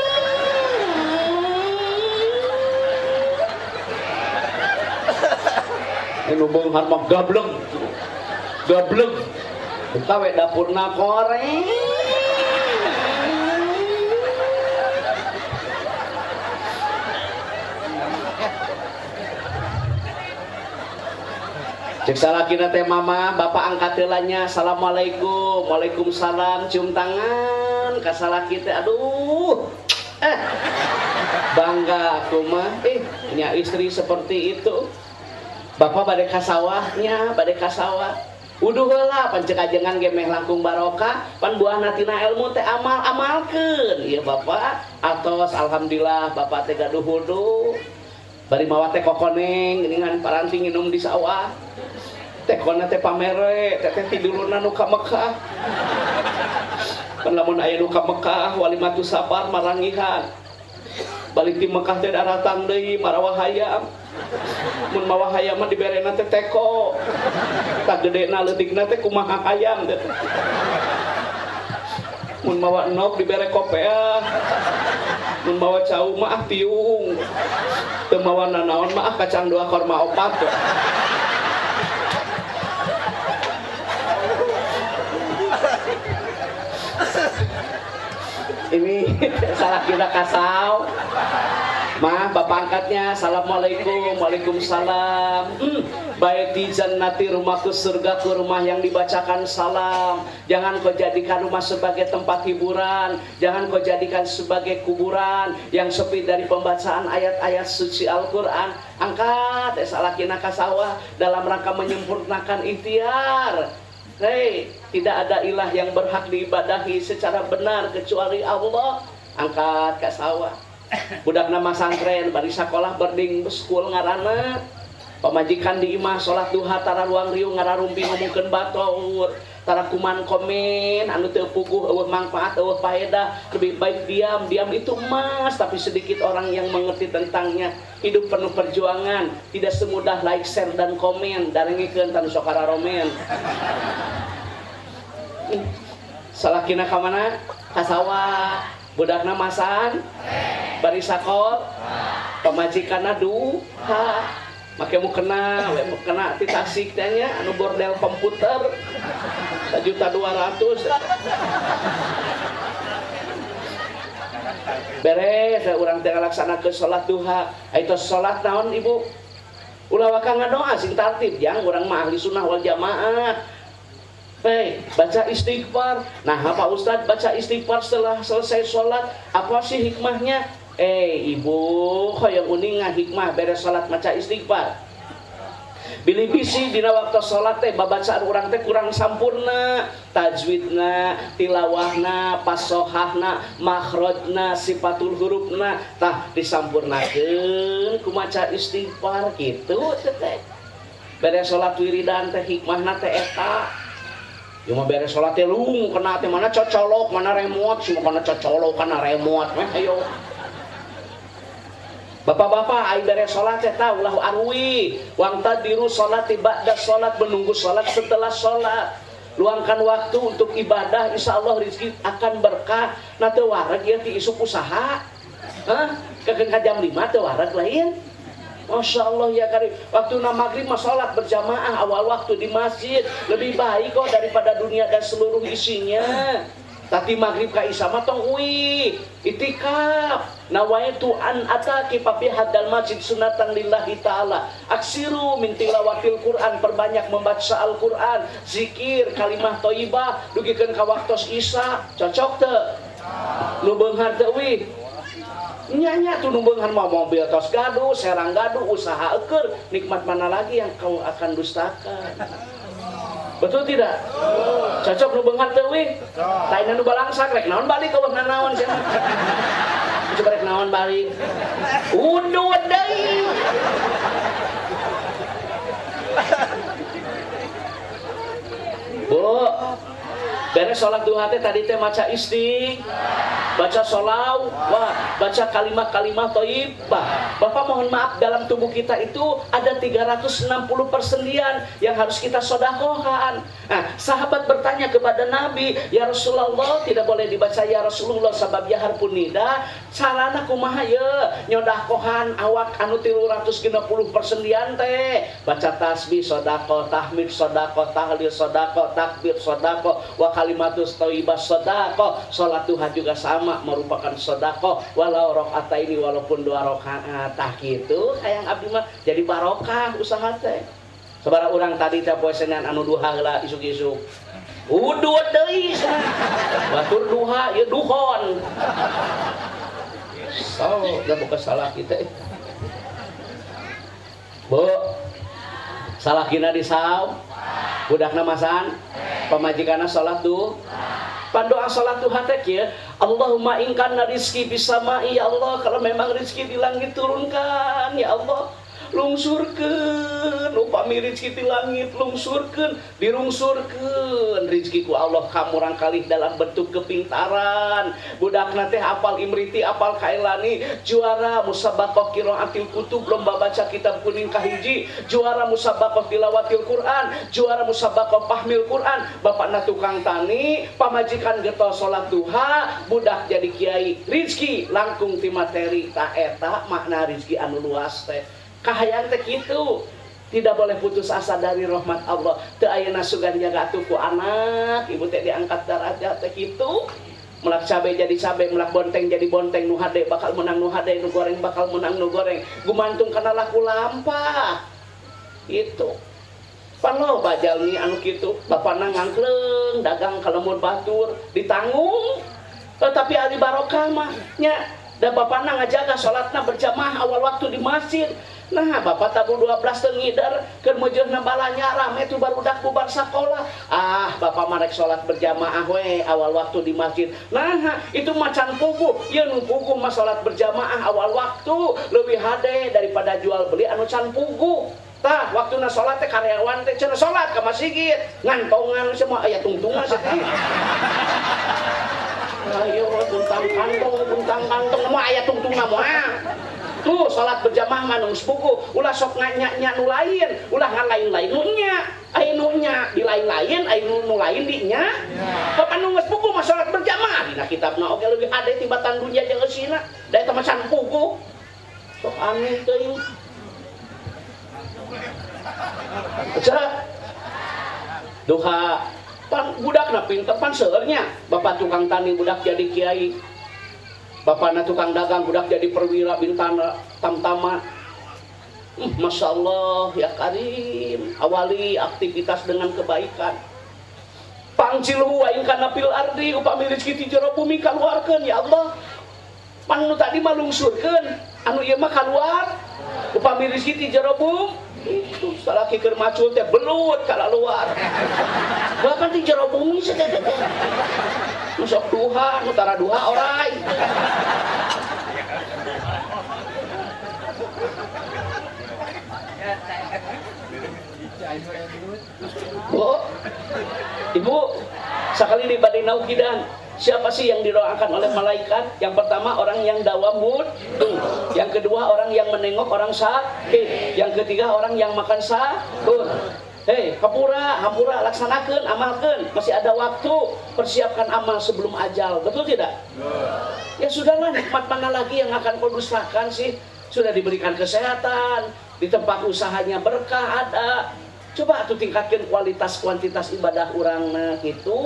Anu beunghar mah gablek. Buka we dapurna koreng. Cek salakina teh mama, bapak angkat heulanya, assalamualaikum, waalaikumsalam, cium tangan, ka salaki teh, aduh, bangga aku mah, punya istri seperti itu. Bapak bade ka sawahnya, bade ka sawah, uduh heula, pan cek ajengan ge meh langkung barokah, pan buahna tina ilmu teh amal-amalkeun, ieu bapak, atos alhamdulillah bapak teh gaduh wudu. Bari mawa teh kokoneng geuningan paranti nginum di sawah. Teh kona teh pamere, teh tiduluna nu ka Mekah. Pan lamun aya nu ka Mekah walimatu sabar marangihan. Balik di Mekah teh daratang deui marawah hayam. Mun mawa hayam mah diberena teh teko. Tak gedena leutikna teh kumaha hayam teh. Mun mawa enok dibere kopeah. Mun mawa cau mah tiung. Teu mawa nanaon mah kacang 2 korma 4. Ini salah kita kasau. Mah bapak angkatnya, assalamualaikum, waalaikumsalam. Baik di jannati, rumahku surgaku, rumah yang dibacakan salam. Jangan kau jadikan rumah sebagai tempat hiburan. Jangan kau jadikan sebagai kuburan yang sepi dari pembacaan ayat-ayat suci Al-Quran. Angkat salakina kasawah dalam rangka menyempurnakan ikhtiar. Hei, tidak ada ilah yang berhak diibadahi secara benar kecuali Allah. Angkat kasawah. Budak nama santren bari sekolah berding school ngaranna Pamajikan di imah salat duha tara luang riung ngararumpi ngomongkeun batur, tara kuman komen anu teu puguh eueuh manfaat eueuh faedah, lebih baik diam. Diam itu emas, tapi sedikit orang yang mengerti tentangnya. Hidup penuh perjuangan, tidak semudah like, share dan komen. Darengikeun tanu sok kararomen. Salakina ka mana? Ka sawah. Budakna masan, bari sakol, pamajikanna duha. Make mu kena ti tasik teh nya anu bordel komputer 1.200.000. Beres urang teh ngalaksanakeun salat duha. Itu salat naon Ibu? Ulah waka ngadoa sing tartib jang urang mah ahli sunnah wal jamaah. Baca istighfar. Nah, apa Ustaz baca istighfar setelah selesai salat? Apa sih hikmahnya? Ibu, hoyong uning hikmah beres salat maca istighfar. Bilih bisi dina waktu salat teh babacaan urang teh kurang sampurna, tajwidna, tilawahna, pasohahna, makhrajna, sifatul hurufna tah disampurnakeun ku maca istighfar kitu teh. Beres salat wiridan teh hikmahna teh eta. Ieu mah beres salat teh lung kena teh mana cocolok, mana remote, semua kana cocolok kana remote mah ayo. Bapak-bapak, ai beres salat teh tah ulah arwi, wangtadiru salati ba'da salat, menunggu salat setelah salat. Luangkan waktu untuk ibadah, insyaallah rezeki akan berkah. Na teu wareg ieu ti isuk usaha. Kekeun ka jam 5 teu wareg lain. Masya Allah ya karim. Waktu maghrib mah salat berjamaah awal waktu di masjid lebih baik kok daripada dunia dan seluruh isinya. Tapi maghrib ka isya mah tong uwi itikaf. Nawaitu an ataki papi hadal masjid sunatan lillahi ta'ala. Aksiru min tilawatil Quran, perbanyak membaca Al-Quran, zikir, kalimah thayyibah, dugikeun ka waktos isya. Cocok teu? Nu beunghar teu wi? Nya tuh nu beunghar mah mobil tos gaduh, serang gaduh, usaha eukeur, nikmat mana lagi yang kau akan dustakan? Betul tidak? Cocok nu beunghar teu wi? Lain nu balangsak rek naon balik ka beunghar naon cenah. Coba rek naon balik. Udud deui. Bu, beres salat duha teh tadi teh maca baca sholawat, baca kalimat-kalimat thayyibah. Bapak mohon maaf, dalam tubuh kita itu ada 360 persendian yang harus kita sedekahkan. Nah, sahabat bertanya kepada Nabi, "Ya Rasulullah, tidak boleh dibaca ya Rasulullah sabab yahar punida, carana kumaha ye nyodakohan awak anu 360 persendian teh?" Baca tasbih sedekah, tahmid sedekah, tahlil sedekah, takbir sedekah, wa kalimatus thayyibah sedekah. Salat duha juga sama, merupakan sedekah walau rakaat ini, walaupun 2 rakaat. Tah kitu hayang abdi mah jadi barokah usaha teh. Sabaraha urang tadi teh poe Senin anu duha heula isuk-isuk. Udud deui cenah. Batur duha ieu duhon. So, da buka salah kita. Bu, salahkina di saum. Budakna masan, pamajikanna salat duha. Pandoa salat duha teh kieu, Allahumma in kana rizqi bis sama'i, ya Allah, kalau memang rezeki di langit turunkan, ya Allah. Lungsurkeun upami rezeki di langit, lungsurkeun, dirungsurkeun rezekiku Allah kamurang kalih dalam bentuk kepintaran. Budakna teh apal imriti, apal kailani, juara musabaqah qiraatil kutub, lomba baca kitab kuning kahiji, juara musabaqah tilawatil Quran, juara musabaqah pahmil Quran. Bapakna tukang tani, pamajikan getol salat duha, budak jadi kiai, rezeki langkung ti materi. Ta eta makna rezeki anu luas teh. Kahayang teh kitu. Tidak boleh putus asa dari rahmat Allah. Teu ayeuna sugan jaga atuh ku anak, ibu teh diangkat darajat teh kitu. Melak cabe jadi cabe, melak bonteng jadi bonteng, nu hade bakal menang nu hade, nu goreng bakal menang nu goreng. Gumantung kana laku lampah. Itu. Pano bajalmi anu kitu, bapana ngangkleng dagang kalemur batur ditanggung. Tapi ari barokah mah nya da bapana ngajaga salatna berjamaah awal waktu di masjid. Nah, bapak tabung 12 teu ngidar keur meujeunna balanya rame tuh barudak bubar sakola. Ah, bapak marek salat berjamaah we awal waktu di masjid. Nah, itu macan puguh. Ieu nu puguh mah salat berjamaah awal waktu leuwih hade daripada jual beli anu can puguh. Tah waktuna salat teh karyawan teh cenah salat ka masjid ngantongan semua aya tungtungan sedih. Ayo buntang kantong mah aya tungtungan mah. Tuh salat berjamaah mah geus puguh, ulah sok nganya-nya nu lain, ulah ngalain-lain nu nya. Aya nu nya di lain-lain, aya nu lain di nya. Bapak nu geus puguh mah salat berjamaah dina kitabna oge leuwih ade tibatan dunya jeung eusina. Da eta mah can puguh. Sok aneh teuing. Cara duha pan budakna pinter pan seurnya bapak tukang tani budak jadi kiai, bapakna tukang dagang budak jadi perwira bintana tamtama. Masya Allah ya Karim, awali aktivitas dengan kebaikan. Pangcilu waing kana fil ardi upami rezeki ti jero bumi kaluarkeun ya Allah. Pan nu tadi mah lungsurkeun, anu ieu mah kaluar upami rezeki ti jero bumi. Itu salaki keur macul teh belut ka luar. Bahkan di jero bumi sedeh. Nu sok duha, nu tara duha orai. Bu, Ibu, sekali di badai naukidan. Siapa sih yang didoakan oleh malaikat? Yang pertama orang yang dawamud, yang kedua orang yang menengok orang sakit, yang ketiga orang yang makan sahur. Hei, hampura laksanakan, amalkan. Masih ada waktu, persiapkan amal sebelum ajal. Betul tidak? Ya sudahlah, nikmat mana lagi yang akan kau dustakan sih? Sudah diberikan kesehatan, di tempat usahanya berkah ada. Coba tuh tingkatkan kualitas kuantitas ibadah orang gitu.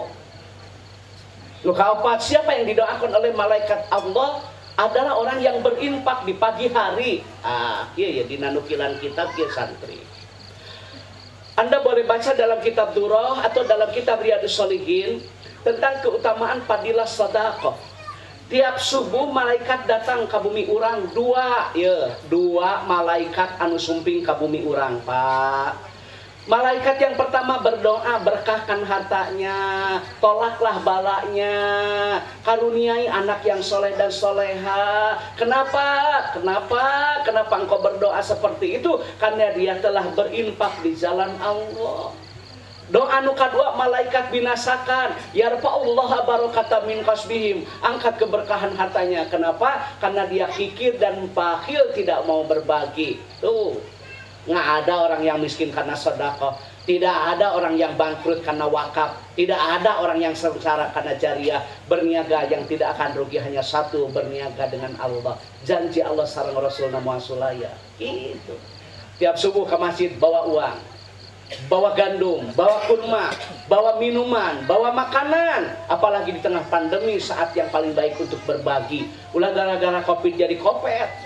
Lu kaopat, siapa yang didoakan oleh malaikat Allah adalah orang yang berinfak di pagi hari. Iya di nanukilan kitab ya santri. Anda boleh baca dalam kitab Durrah atau dalam kitab Riyadhus Shalihin tentang keutamaan fadilah sedekah. Tiap subuh malaikat datang ke bumi urang dua malaikat anu sumping ke bumi urang, Pak. Malaikat yang pertama berdoa, berkahkan hartanya, tolaklah balanya, karuniai anak yang soleh dan soleha. Kenapa engkau berdoa seperti itu? Karena dia telah berinfak di jalan Allah. Doa nu kadua malaikat binasakan, yarfa'ullaha barakata min kasbihim, angkat keberkahan hartanya. Kenapa? Karena dia kikir dan bakhil, tidak mau berbagi. Tuh. Nggak ada orang yang miskin karena sedekah, tidak ada orang yang bangkrut karena wakaf, tidak ada orang yang sengsara karena jariah. Berniaga yang tidak akan rugi hanya satu, berniaga dengan Allah. Janji Allah sareng Rasulna muasulaya. Itu. Tiap subuh ke masjid bawa uang, bawa gandum, bawa kurma, bawa minuman, bawa makanan. Apalagi di tengah pandemi saat yang paling baik untuk berbagi. Ulah gara-gara Covid jadi kopet.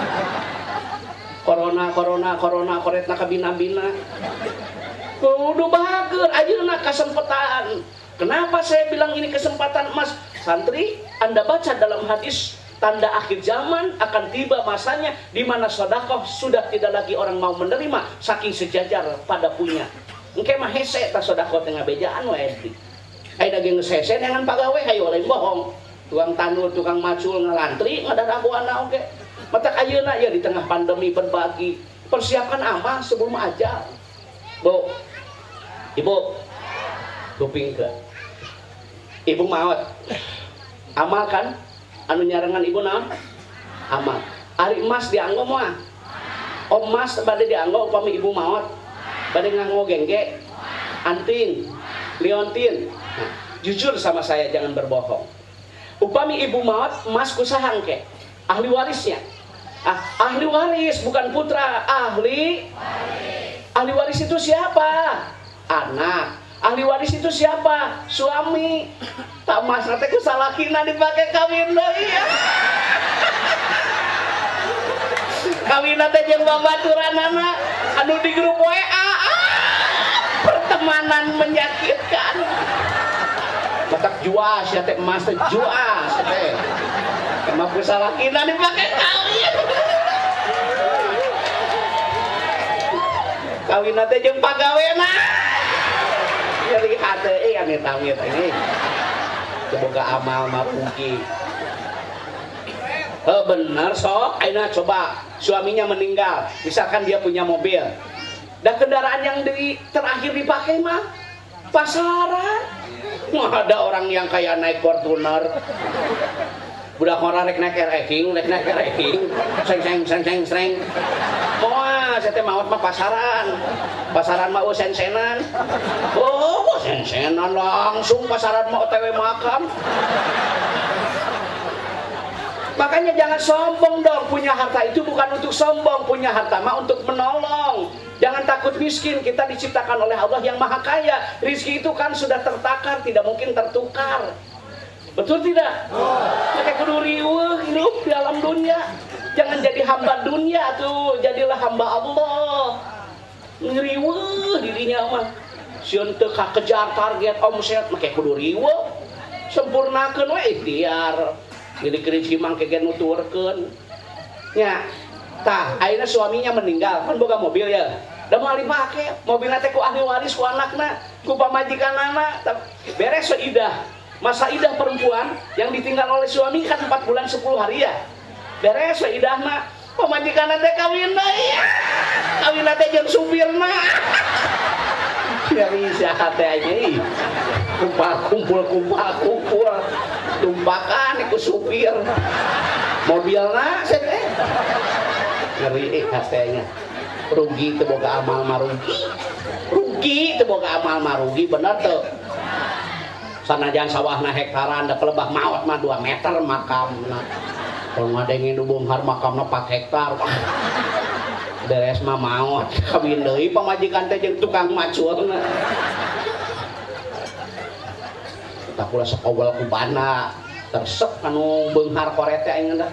Corona koretna kabina-bina. Kudu bahagia ayeuna kesempatan. Kenapa saya bilang ini kesempatan emas? Santri, Anda baca dalam hadis tanda akhir zaman akan tiba masanya di mana sedekah sudah tidak lagi orang mau menerima saking sejajar pada punya. Engke mah hese ta sedekah teh ngabejaan wae. Ai daging geus hese dengan pagawe hayu lain bohong. Tukang tanur, tukang macul ngalantri ngadaragoana oge. Mata ayeuna ya di tengah pandemi berbagi, persiapkan amal sebelum ajal. Bu, Ibu, kuping ke. Ibu maot. Amal kan? Anu nyarengan Ibu naon? Amal. Ari emas dianggo moal. Emas bade dianggo upami Ibu maot. Bade nganggo gengge, anting, liontin. Nah, jujur sama saya, jangan berbohong. Upami Ibu maot, emas kusaha engke? Ahli warisnya. Ahli waris bukan putra, ahli waris itu siapa? Anak. Ahli waris itu siapa? Suami. Tak mas nanti ku salakina dipakai kawin deui ya. Kawin nanti jeung babaturanana anu di grup WA. Pertemanan menyakitkan. Matak juas ya teh emas teh juas teh. Emang salah kita dipakai kawin. Kawin nanti jeung pagawena. Jadi hate ane tamit ini. Semoga amal mah puji. Bener sok, ayeuna coba suaminya meninggal, misalkan dia punya mobil, dan kendaraan yang terakhir dipakai mah pasaran. Wah, ada orang yang kayak naik Fortuner, budak orang naik eking, seng. Wah, saya teh maot mah pasaran mah sen-senan. Oh, sen-senan langsung pasaran mah OTW makam. Makanya jangan sombong dong, punya harta itu bukan untuk sombong, punya harta mah untuk menolong. Jangan takut miskin, kita diciptakan oleh Allah yang maha kaya. Rizki itu kan sudah tertakar, tidak mungkin tertukar. Betul tidak? Pakai kudu riweuh hidup di alam dunia. Jangan jadi hamba dunia tuh, jadilah hamba Allah. Ngeriweuh dirinya mah. Sieun teu kakejar target omset make kudu riweuh. Sempurnakeun we ikhtiar. Jadi keriji mangke ge nuturkeun. Nya, tah ayeuna suaminya meninggal, kan boga mobil ya. Da moal dipake, mobilna teh ku ahli waris ku anakna, ku pamajikanana, beres seidah. Masa idah perempuan yang ditinggal oleh suami kan 4 bulan 10 hari ya. Beres idahna, pamajikanna teh kawin deui. Kawinna teh jeung supirna. Dari saha teh anjing. Kumpul. Tumpakan iku supir. Mobilna teh ngeri katanya. Rugi teu boga amal marugi. Rugi teu boga amal marugi, bener teu? Sanajan sawahna hektaran da kelebah maot mah 2 meter makamna. Kalau ngadengin dubunghar makamna 4 hektar. Beres mah maot kawin deui pamajikan teh jeung tukang macurna. Tah kula sakowel ku bana tersep anu beunghar korete aing da.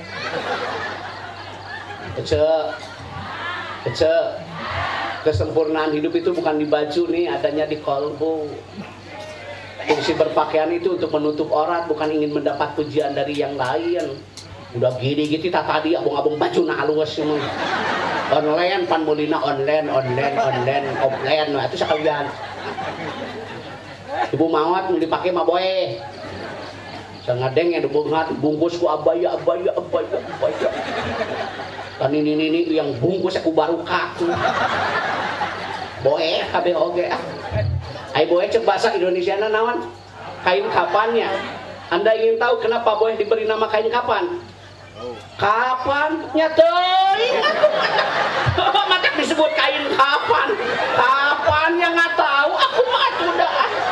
Ece. Kesempurnaan hidup itu bukan di baju nih, adanya di kalbu. Fungsi berpakaian itu untuk menutup aurat, bukan ingin mendapat pujian dari yang lain. Udah gini gitu tadi abang-abang baju na halus emang. Online pan mulina online offline nah itu sekalian. Ibu mawat mau dipakai mah boy. Sangadeng yang bungkus ku abaya. Dan ini yang bungkus aku barukah. Boy kabeh oge. Ai boy cek bahasa Indonesiana naon? Kain kapannya. Anda ingin tahu kenapa boy diberi nama kain kapan? Kapan? Nyateuing aku mah disebut kain kapan. Kapannya nggak tahu, aku mah udah.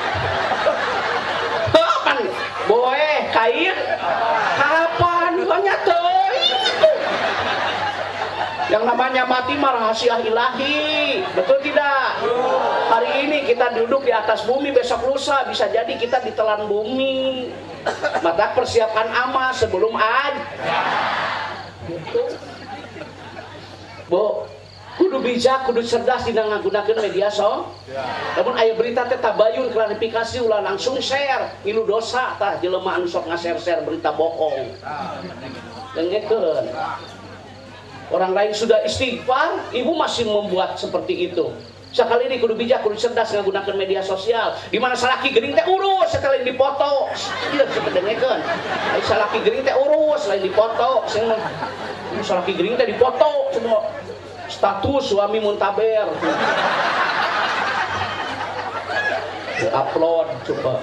Kapan? Boy kain kapan? Nyateuing. Yang namanya mati mah rahasia ilahi. Betul tidak? Hari ini kita duduk di atas bumi, besok lusa bisa jadi kita ditelan bumi. Maka persiapkan amal sebelum gitu. Bu, kudu bijak, kudu cerdas dina ngagunakeun media namun aya berita teh tabayun klarifikasi ulah langsung share, ngilu dosa tah jelema anu sok nga-share berita bohong. Dengekeun. Orang lain sudah istighfar, ibu masih membuat seperti itu. Sekali ini kudu bijak, kudu cerdas menggunakan media sosial. Di mana salaki gering teh urus setelah dipoto. Iya sepedengekeun. Ai salaki gering teh urus lain dipoto. Sing salaki gering teh dipoto semua. Status suami muntaber. Upload coba.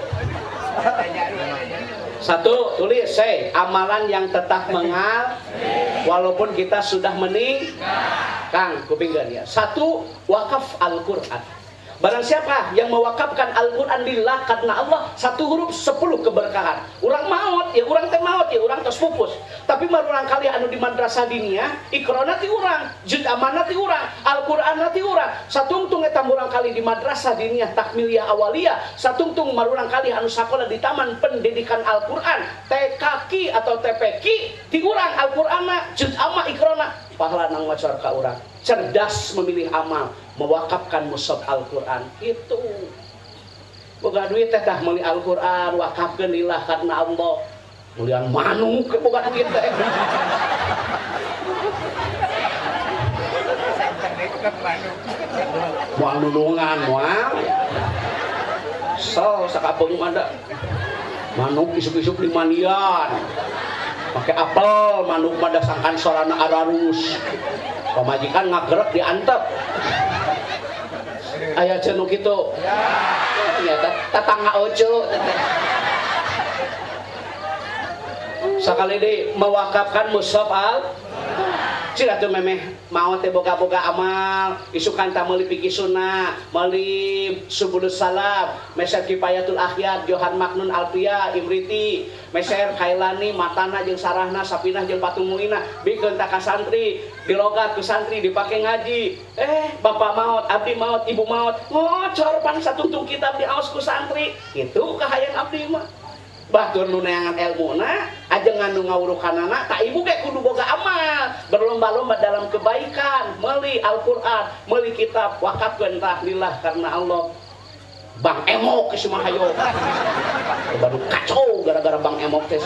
Satu, tulis amalan yang tetap mengal walaupun kita sudah Kang, kupinggan ya. Satu, wakaf Al-Quran. Barang siapa yang mewakafkan Al-Quran lillah karena Allah, 1 huruf 10 keberkahan. Urang maot, ya urang teh maot, ya urang tos pupus. Tapi marurang kali anu di madrasah diniyah, ikrona ti urang, juz amanah ti urang, Al-Quran ti urang. Satungtung eta urang kali di madrasah diniyah takmiliyah awaliyah, satungtung marurang kali anu sakola di taman pendidikan Al-Quran, TKQ atau TPQ, ti urang Al-Qur'anna, juz amah ikrona, pahala nang macar ka urang. Cerdas memilih amal, mewakafkan mushaf Al-Quran itu. Boga duit teh tah meuli Al-Quran wakafkeun lillah karena Allah. Mulian manuk boga duit teh. Moal nulungan moal. Sakapung ada. Manuk isuk-isuk di mandian. pakai apel manuk pada sangkan sorana ararus pamajikan ngagerek diantep aya cenuk kitu ya tetangga ojo sakali deui mewakafkan mushaf al cira tuh memeh mau teh boga-boga amal isukan ta meuli piki sunnah meuli subulus salam meser kifayatul akhyat Johan Maknun Alpia Imriti meser Kailani Matana jeung Sarahna Sapinah jeung Patumuina bikeun ta ka santri dilogat ku santri dipake ngaji bapak maot abdi maot ibu maot ngocor pan satungtung kitab diaos ku santri kitu kahayang abdi mah batur nu neangan ilmuna ajengan nu ngawurukanana tak ibu ge kudu boga amal berlomba-lomba dalam kebaikan meuli Al-Qur'an meuli kitab wakafkeun lillah karena Allah Bang Emok geus mah hayo baru kacau gara-gara Bang Emok teh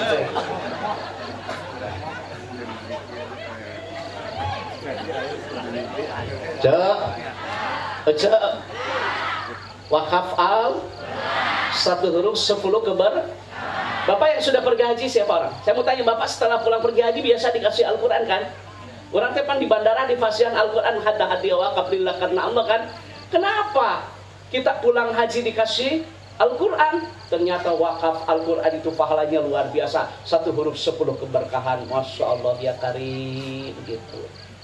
cek wakaf al satu huruf 10 keber. Bapak yang sudah pergi haji siapa orang? Saya mau tanya Bapak setelah pulang pergi haji biasa dikasih Al-Quran kan? Orang tepan di bandara di fasihan Al-Quran hadiah wakaf lillah karena Allah kan? Kenapa kita pulang haji dikasih Al-Quran? Ternyata wakaf Al-Quran itu pahalanya luar biasa. Satu huruf 10 keberkahan. Masya Allah ya karim gitu.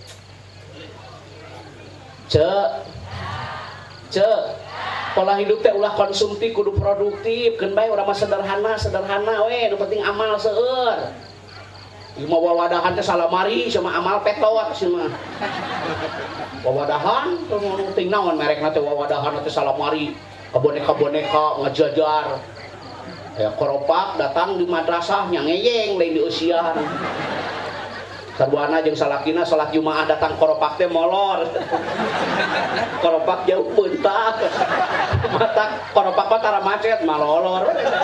Pola hidup teh ulah konsumtif kudu produktif keun bae urang mah sederhana we nu penting amal seueur ieu mah wawadahan teh salamari sama amal petot sia mah wawadahan teu penting naon merekna teh wawadahan teh salamari kaboneka ngajajar aya koropak datang di madrasah nya ngeyeng lain di usiaan sarwana jeung salakina salat Jumaah datang koropak teh molor. Koropak jauh bentak. Mata koropak mah tara macet malolor.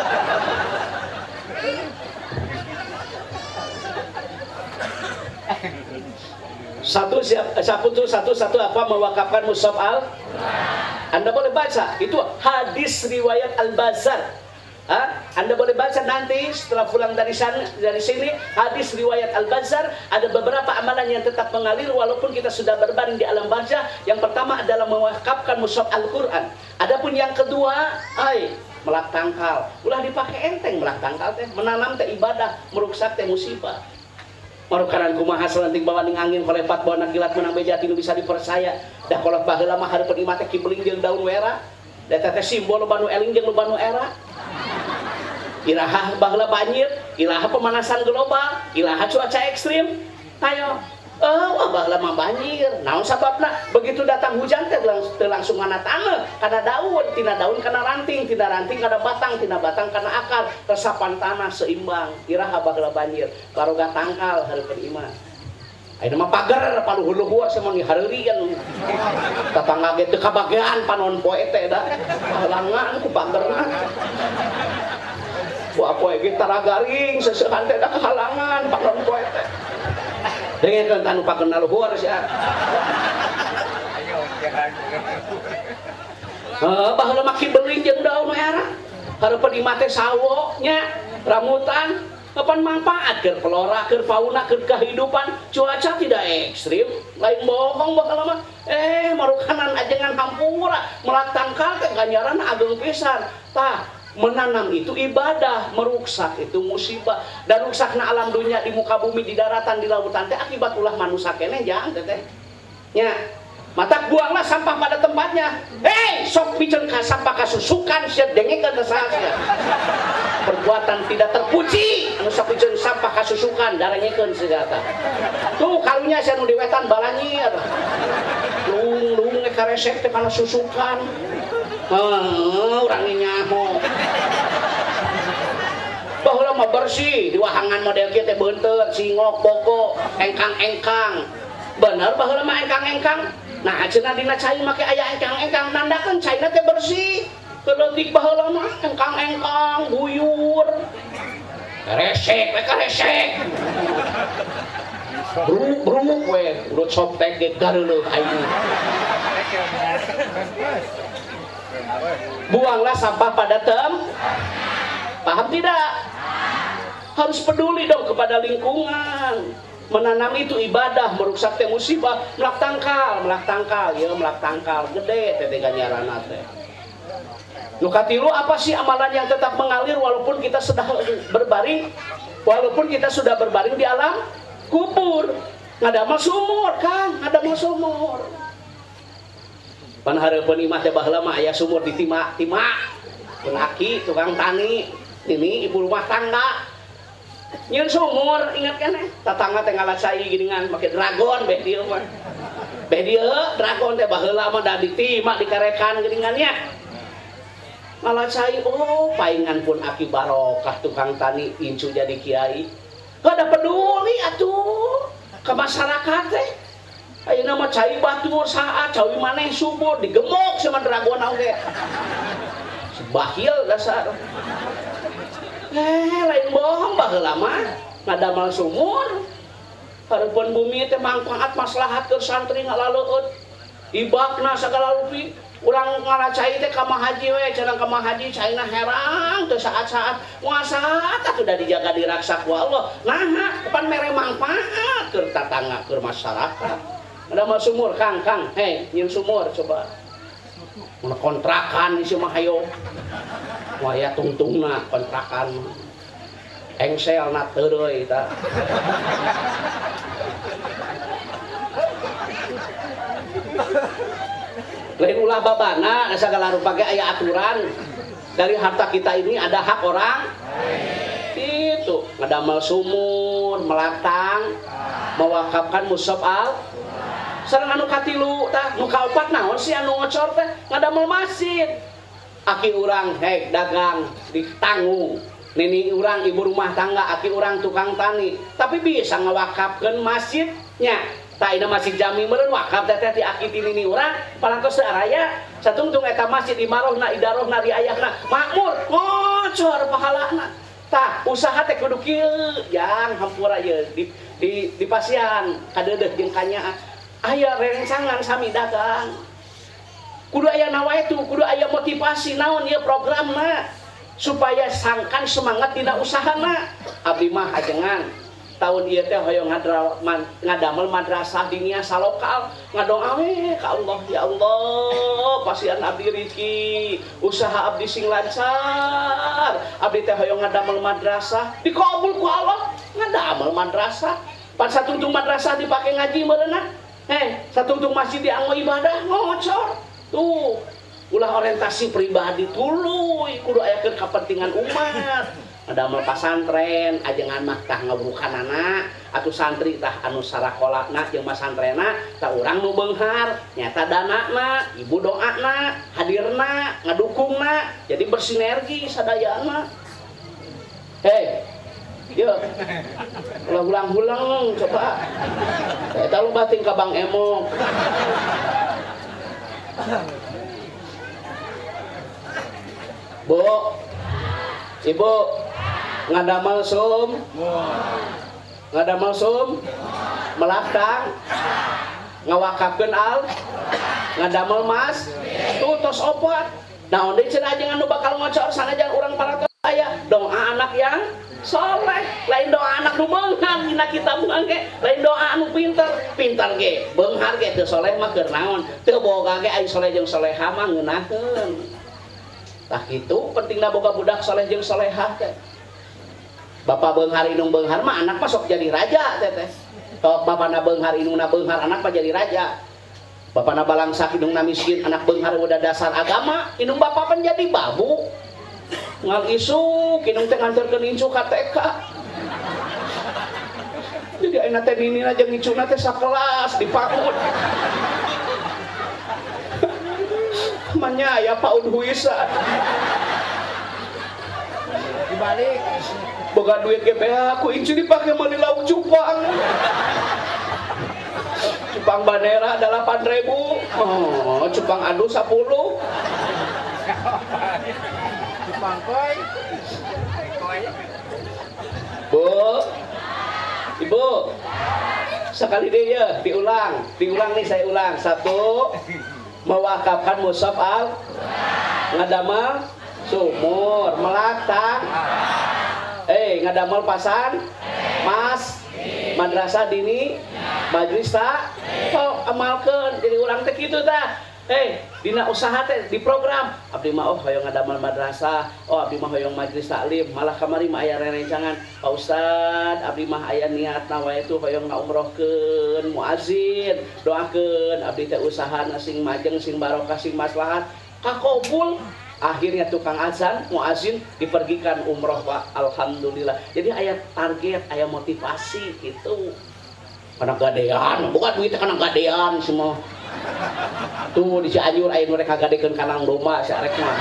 Satu apa mewakafkan mushaf al? Anda boleh baca. Itu hadis riwayat Al-Bazzar. Anda boleh baca nanti setelah pulang dari sini hadis riwayat Al-Bazzar. Ada beberapa amalan yang tetap mengalir walaupun kita sudah berbaring di alam barzah. Yang pertama adalah mewakafkan mushaf Al-Quran. Adapun yang kedua, melak tangkal. Ulah dipakai enteng melak tangkal teh. Menanam teh ibadah, meruksak teh musibah. Marukaran kumaha selenting bawa ning angin kolepat bawa kilat menang beja tinu bisa dipercaya. Dah kolot baheula mah hareupeun imah teh kibeling jeung daun wera. Da teh simbol lobanu eling jeung lobanu era. Ilaha baheula banjir, ilaha pemanasan global, ilaha cuaca ekstrim. Ayo, baheula mah banjir. Naon sababna? Begitu datang hujan teh langsung ngana taneuh, kana daun, tina daun kana ranting, tina ranting kana batang, tina batang kana akar, resapan tanah seimbang. Iraha baheula banjir, karoga tangkal hareupeun imah. Ayeuna mah pager paluhur-luhur sama ni hareurieun. Tatangga ge teu kabagean panon poe teh da. Halangan ku pagerna. Wah poe ge tara garing seusehan teh da halangan panon poe teh. Dengekeun tanu pakeun luhur sia. Baheula mah kibeling jeung daun era. Hareupeun imah teh sawo nya, rambutan. Kapan manfaat ke flora, ke fauna, ke kehidupan cuaca tidak ekstrim lain bohong bakal mah marukanan ajengan hampura melak tangkal ke ganjaran ageng pisan tah menanam itu ibadah meruksak itu musibah dan ruksakna alam dunia di muka bumi di daratan di lautan teh akibat ulah manusia keneh jangan teh nya mata buanglah sampah pada tempatnya. Sok piceun ka sampah kasusukan sia dengekeun saha. Perbuatan tidak terpuji anu sok piceun sampah kasusukan darengekeun segala. Tuh karunya sia nu di wetan balanyir. Lung ge karesek teh kana susukan. Urang nyaho. Baheula mah bersih di wahangan model kieu teh beunteut singok boko engkang-engkang. Bener baheula mah engkang-engkang. Nah, cenah dina cai make aya engkang-engkang nandakeun caina teh bersih. Keleutik baheula mah engkang-engkang buyur. Resek we karesek. Bruk we urut soptek ge gareuleuk aing. Buanglah sampah pada paham tidak? Harus peduli dong kepada lingkungan. Menanam itu ibadah, merusak teh musibah, melak tangkal, ya melak tangkal gede teh ganjaranna teh. Nu katilu apa sih amalan yang tetap mengalir walaupun kita sudah berbaring di alam kubur. Ngadamel sumur, Kang, ngadamel sumur. Pan hareupeun imah teh baheula mah aya sumur di timah. Pun aki tukang tani, ini ibu rumah tangga. Nyeun sumur, ingat kan tatangga teh ngalasai geuningan make dragon beh dieu mah. Beh dieu dragon teh baheula mah da ditima dikarekan geuningan nya. Ngalasai paingan pun aki barokah tukang tani incu jadi kiai. Kada peduli atuh ka masyarakat teh. Ayeuna mah cai batur saha cawi maneh subur digemuk sama dragon oge. Sebahil dasar. Lain bohong baheula mah ngadamal sumur. Hareupeun bumi teh mangpaat maslahat keur santri ngalaleueut. Ibakna sagala rupi. Urang ngaracai teh ka mahaji we, cenah ka mahaji caina herang teu saat-saat muasaat atuh da dijaga diraksa ku Allah. Naha pan mere mangpaat keur tatangga keur masyarakat. Ngadamal sumur Kang, nyeun sumur coba. Mun kontrakan isi mah hayo. Waya tungtungna kontrakan. Engselna teu deui eta. Lain ulah babana segala rupa ge aya aturan. Dari harta kita ini ada hak orang. Itu ngadamel sumur, melatang, mewakafkan mushaf al. Sareng anu katilu tah, nu kaopat naon sih anu ngocor teh? Ngadamel masjid. Aki urang dagang ditanggung. Nini urang ibu rumah tangga, aki urang tukang tani. Tapi bisa ngawakafkeun masjidnya. Tak ina masjid jami meureun wakaf teh ti aki ti nini urang parantos araya satungtung eta masjid imarohna idarohna di ayahna makmur ngocor pahalana. Tah usaha teh kudu kieu jang hampura ye di pasian kadeudeuh jeung kanya aya rerengsangan sami dagang. Kudu aya nawaitu, kudu aya motivasi naon ieu programna supaya sangkan semangat dina usahana. Abdi mah ajengan tahun ieu teh hoyong ngadamel madrasah dinia salokal ngadoa we ka Allah, ya Allah pasian abdi rezeki usaha abdi sing lancar, abdi teh hoyong ngadamel madrasah dikabul ku Allah ngadamel madrasah pan satungtung madrasah dipake ngaji meureunna satungtung masjid dianggo ibadah ngocor tuh ulah orientasi pribadi tuluy kudu aya keur kapentingan umat. Ngadamel pasantren ajengan mah tah ngaburukanana atuh santri tah anu sarakolana jeung masantrenna tah urang nu beunghar nyata danana ibu doana hadirna ngadukungna jadi bersinergi sadayana. Yuk ulang-ulang coba eta lu bating ka Bang Emo. Bu, Ibu ngadamel sum, melatang, ngawakafkeun al, ngadamel mas, tuh tos opat. Naon deui cenah ajengan nu bakal ngocor sanajan urang paratos aya doa anak yang soleh, lain doa anak nu beunghar dina kitab ge, lain doa anu pintar ge, beunghar ge teu soleh mah keur naon, teu boga ge ai soleh jeung soleha mah ngeunaheun. Tah kitu pentingna boga budak soleh jeung solehah teh. Bapak beunghar indung beunghar mah anak mah sok jadi raja teh. Tok bapana beunghar indungna beunghar anak mah jadi raja. Bapana balangsak indungna miskin anak beunghar udah dasar agama, indung bapak pan jadi babu. Ngal isuk indung teh nganterkeun incu ka TK. Jadi ayeuna teh ninina jeung incuna teh sakelas dipaut. Manya ya Pak Udhuisa dibalik boga duit GBH aku incu dipake meuli lauk cupang banera 8.000 cupang adu 10 cupang koi Bu Ibu sekali deh ya diulang nih saya ulang 1 mewakafkan mushaf al, ngadamel sumur, melatang, ngadamel pasan mas madrasah dini majlis tak amalkeun jadi urang teh kitu tah. Dina usaha teh di program abdi mah hoyong ngadamel madrasah, abdi mah hoyong majlis taklim, malah kamari mah aya rerencangan Pak Ustad abdi mah aya niatna wae tuh hoyong ngaumrohkeun muazin, doakeun abdi teh usahana sing majeng sing barokah sing maslahat kakobul. Akhirnya tukang azan muazin dipergikan umroh Pak, alhamdulillah. Jadi aya target, aya motivasi gitu. Kana gadean, bukan duit kana gadean semua. Tuh di Cianjur aya nu rek kagadekeun kanang domba sarek mah.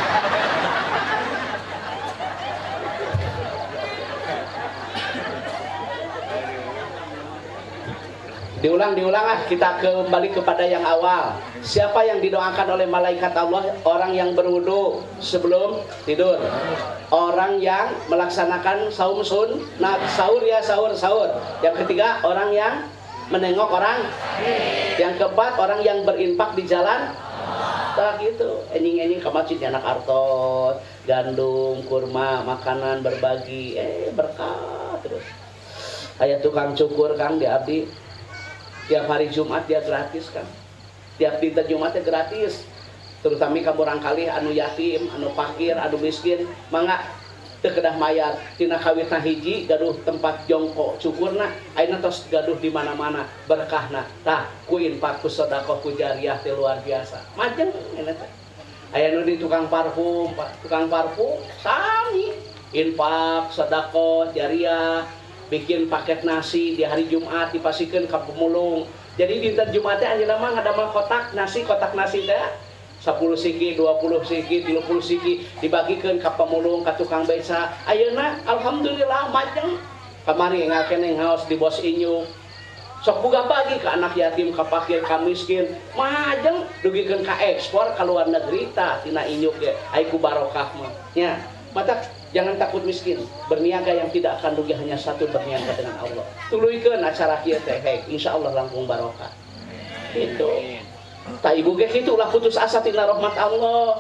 Diulang kita kembali kepada yang awal. Siapa yang didoakan oleh malaikat Allah? Orang yang berwudu sebelum tidur. Orang yang melaksanakan saum sunnah, sahur ya sahur. Yang ketiga orang yang menengok orang. Yang keempat orang yang berinfak di jalan. Tak gitu. Enjing ke masjid anak artot, gandum, kurma, makanan berbagi, berkah terus. Aya tukang cukur Kang di abdi. Tiap hari Jumat dia gratis kan. Tiap dinten Jumatnya gratis. Terutama kamu rangkali anu yatim, anu fakir, anu miskin, mangga teu kedah mayar. Tina kawitna hiji gaduh tempat jongkok cukurna, ayeuna tos gaduh di mana-mana berkahna. Tah, ku infak ku sedekah ku jariah teh luar biasa. Majeng eta teh. Aya nu di tukang parfum, tukang parfum sami infak, sedekah, jariah. Bikin paket nasi di hari Jumat dipasikeun ka pemulung. Jadi dinten Jumatnya anjeunna mah ngadamel kotak nasi teh 10 siki, 20 siki, 30 siki dibagikeun ka pemulung, ka tukang beca. Ayeuna alhamdulillah majeng. Kamari ngakene ngaos di bos inyung. Sok boga bagi ka anak yatim, ka fakir, ka miskin. Majeng dugikeun ka ekspor ka luar negeri tah tina inyuk ge. Ai ku barokah mah. Nya, mata jangan takut miskin. Berniaga yang tidak akan rugi hanya satu, berniaga dengan Allah. Tuluikeun acara kieu teh, insyaallah langkung barokah. Gitu. Ta ibu ge kitu ulah putus asa tina rahmat Allah.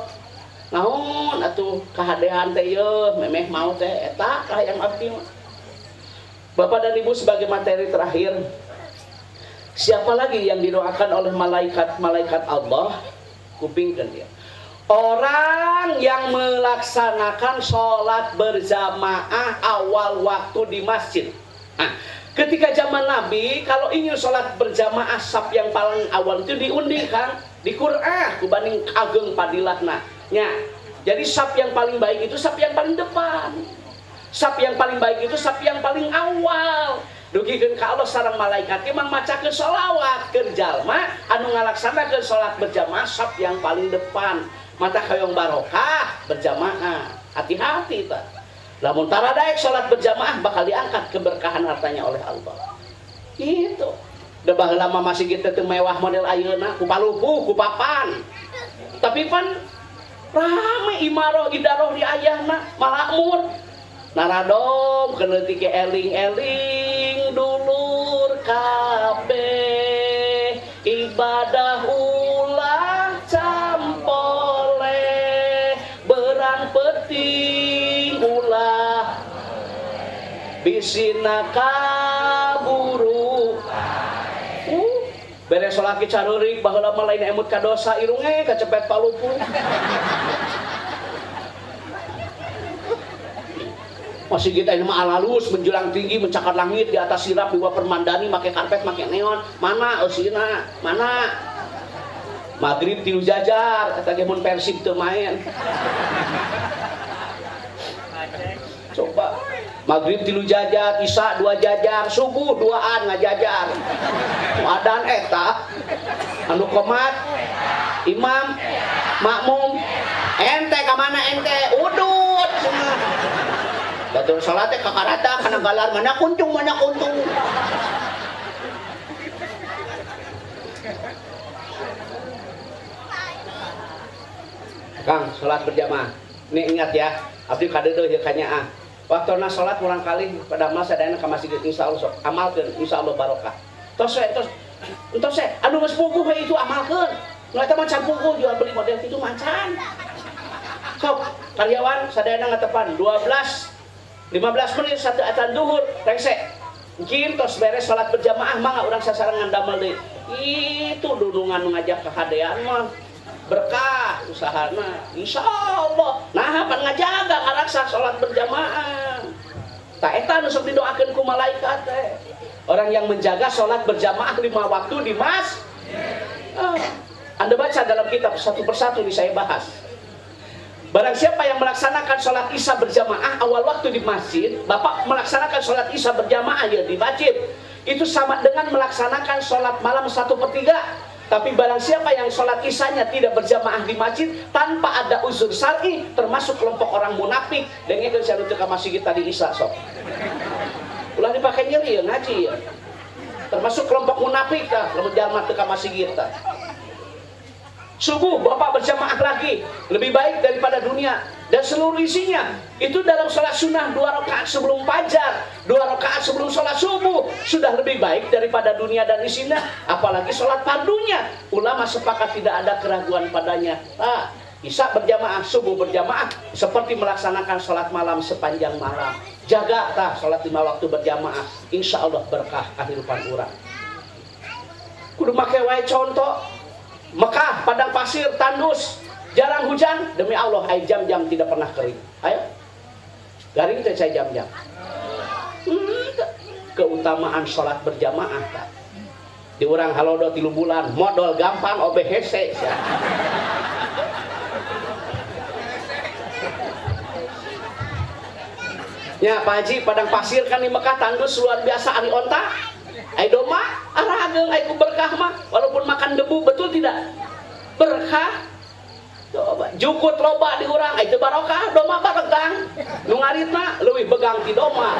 Naon atuh kahadean teh yeuh memeh mau teh eta kahayang abdi mah. Bapak dan Ibu sebagai materi terakhir, siapa lagi yang didoakan oleh malaikat Allah? Kupingkeun dia. Orang yang melaksanakan sholat berjamaah awal waktu di masjid. Nah, ketika zaman Nabi, kalau ingin sholat berjamaah saf yang paling awal itu diundi kan, di Qur'an, kubanding ageng padilahna. Ya, jadi saf yang paling baik itu saf yang paling depan. Saf yang paling baik itu saf yang paling awal. Dugikeun ka Allah sareng malaikat emang macakeun sholawat keur jalma anu ngalaksanakeun sholat berjamaah saf yang paling depan. Mata kayong barokah berjamaah. Hati-hati tak. Lamun taradaek sholat berjamaah bakal diangkat keberkahan hartanya oleh Allah. Gitu. Da baheula mah masih kita teu mewah model ayeuna, ku palupuh, ku papan. Tapi pan rame imaroh idaroh di ayahna, makmur. Naradom keuleutik ke eling-eling dulur kabeh ibadah ulah campole berang peting ulah bisina kaburu beres sholat careurik baheula mah lain emut ka dosa irunge kacepet palupuh. Masih kita ini mah alalus menjulang tinggi mencakar langit di atas sirap di bawah permandani make karpet make neon mana eusina mana maghrib tilu jajar eta ge mun Persib teu main coba maghrib tilu jajar isya 2 jajar subuh 2an ngajajar adan eta anu qomat imam makmum ente ka mana ente udut semua batur salatnya kakarata kana galar mana kuntung Kang salat berjamaah ini ingat ya abdi kadeueuh ieu kanyaah waktuna salat urang kali pada masa sadayana ka masjid insyaallah sok amalkeun insyaallah barokah tos anu geus puguh itu amalkeun nu eta mah can puguh jual beli model kitu macan sok karyawan sadayana ngatepan 12 15 menit satu adzan duhur rese mungkin tos beres salat berjamaah mah urang sasarangan damel deui. Itu dudungan ngajak kehadean mah berkah usahana insyaallah. Nah pan ngajaga ngaraksa salat berjamaah tak eta nu sok didoakeun ku malaikat teh. Orang yang menjaga salat berjamaah 5 waktu di Anda baca dalam kitab satu persatu ini saya bahas. Barang siapa yang melaksanakan sholat isya berjamaah awal waktu di masjid, Bapak melaksanakan sholat isya berjamaah ya di masjid, itu sama dengan melaksanakan sholat malam 1/3. Tapi barang siapa yang sholat isyanya tidak berjamaah di masjid tanpa ada uzur syar'i, termasuk kelompok orang munafik, dengan saya nutup ke masjid tadi isya sok. Ulah dipakai nyeri ya ngaji ya. Termasuk kelompok munafik kah, lamun jalma teu ka masjid tah. Subuh Bapak berjamaah lagi lebih baik daripada dunia dan seluruh isinya. Itu dalam sholat sunnah 2 rakaat sebelum fajar, 2 rakaat sebelum sholat subuh sudah lebih baik daripada dunia dan isinya. Apalagi sholat fardunya, ulama sepakat tidak ada keraguan padanya. Isya berjamaah, subuh berjamaah seperti melaksanakan sholat malam sepanjang malam. Jaga sholat 5 waktu berjamaah, insya Allah berkah kehidupan urang. Kudu make wae contoh. Mekah, padang pasir, tandus, jarang hujan, demi Allah air jam-jam tidak pernah kering. Ayo, garing teh saya jam-jam. Keutamaan sholat berjamaah tak? Di urang halodo 3 bulan, modal gampang obe hese. Ya Pak Haji, padang pasir kan di Mekah tandus luar biasa ari onta. Ai doma arageung ai ku berkah mah walaupun makan debu, betul tidak? Berkah. Coba jukut loba di urang ai teu barokah, doma baregang. Nu ngaritna leuwih begang ti doma.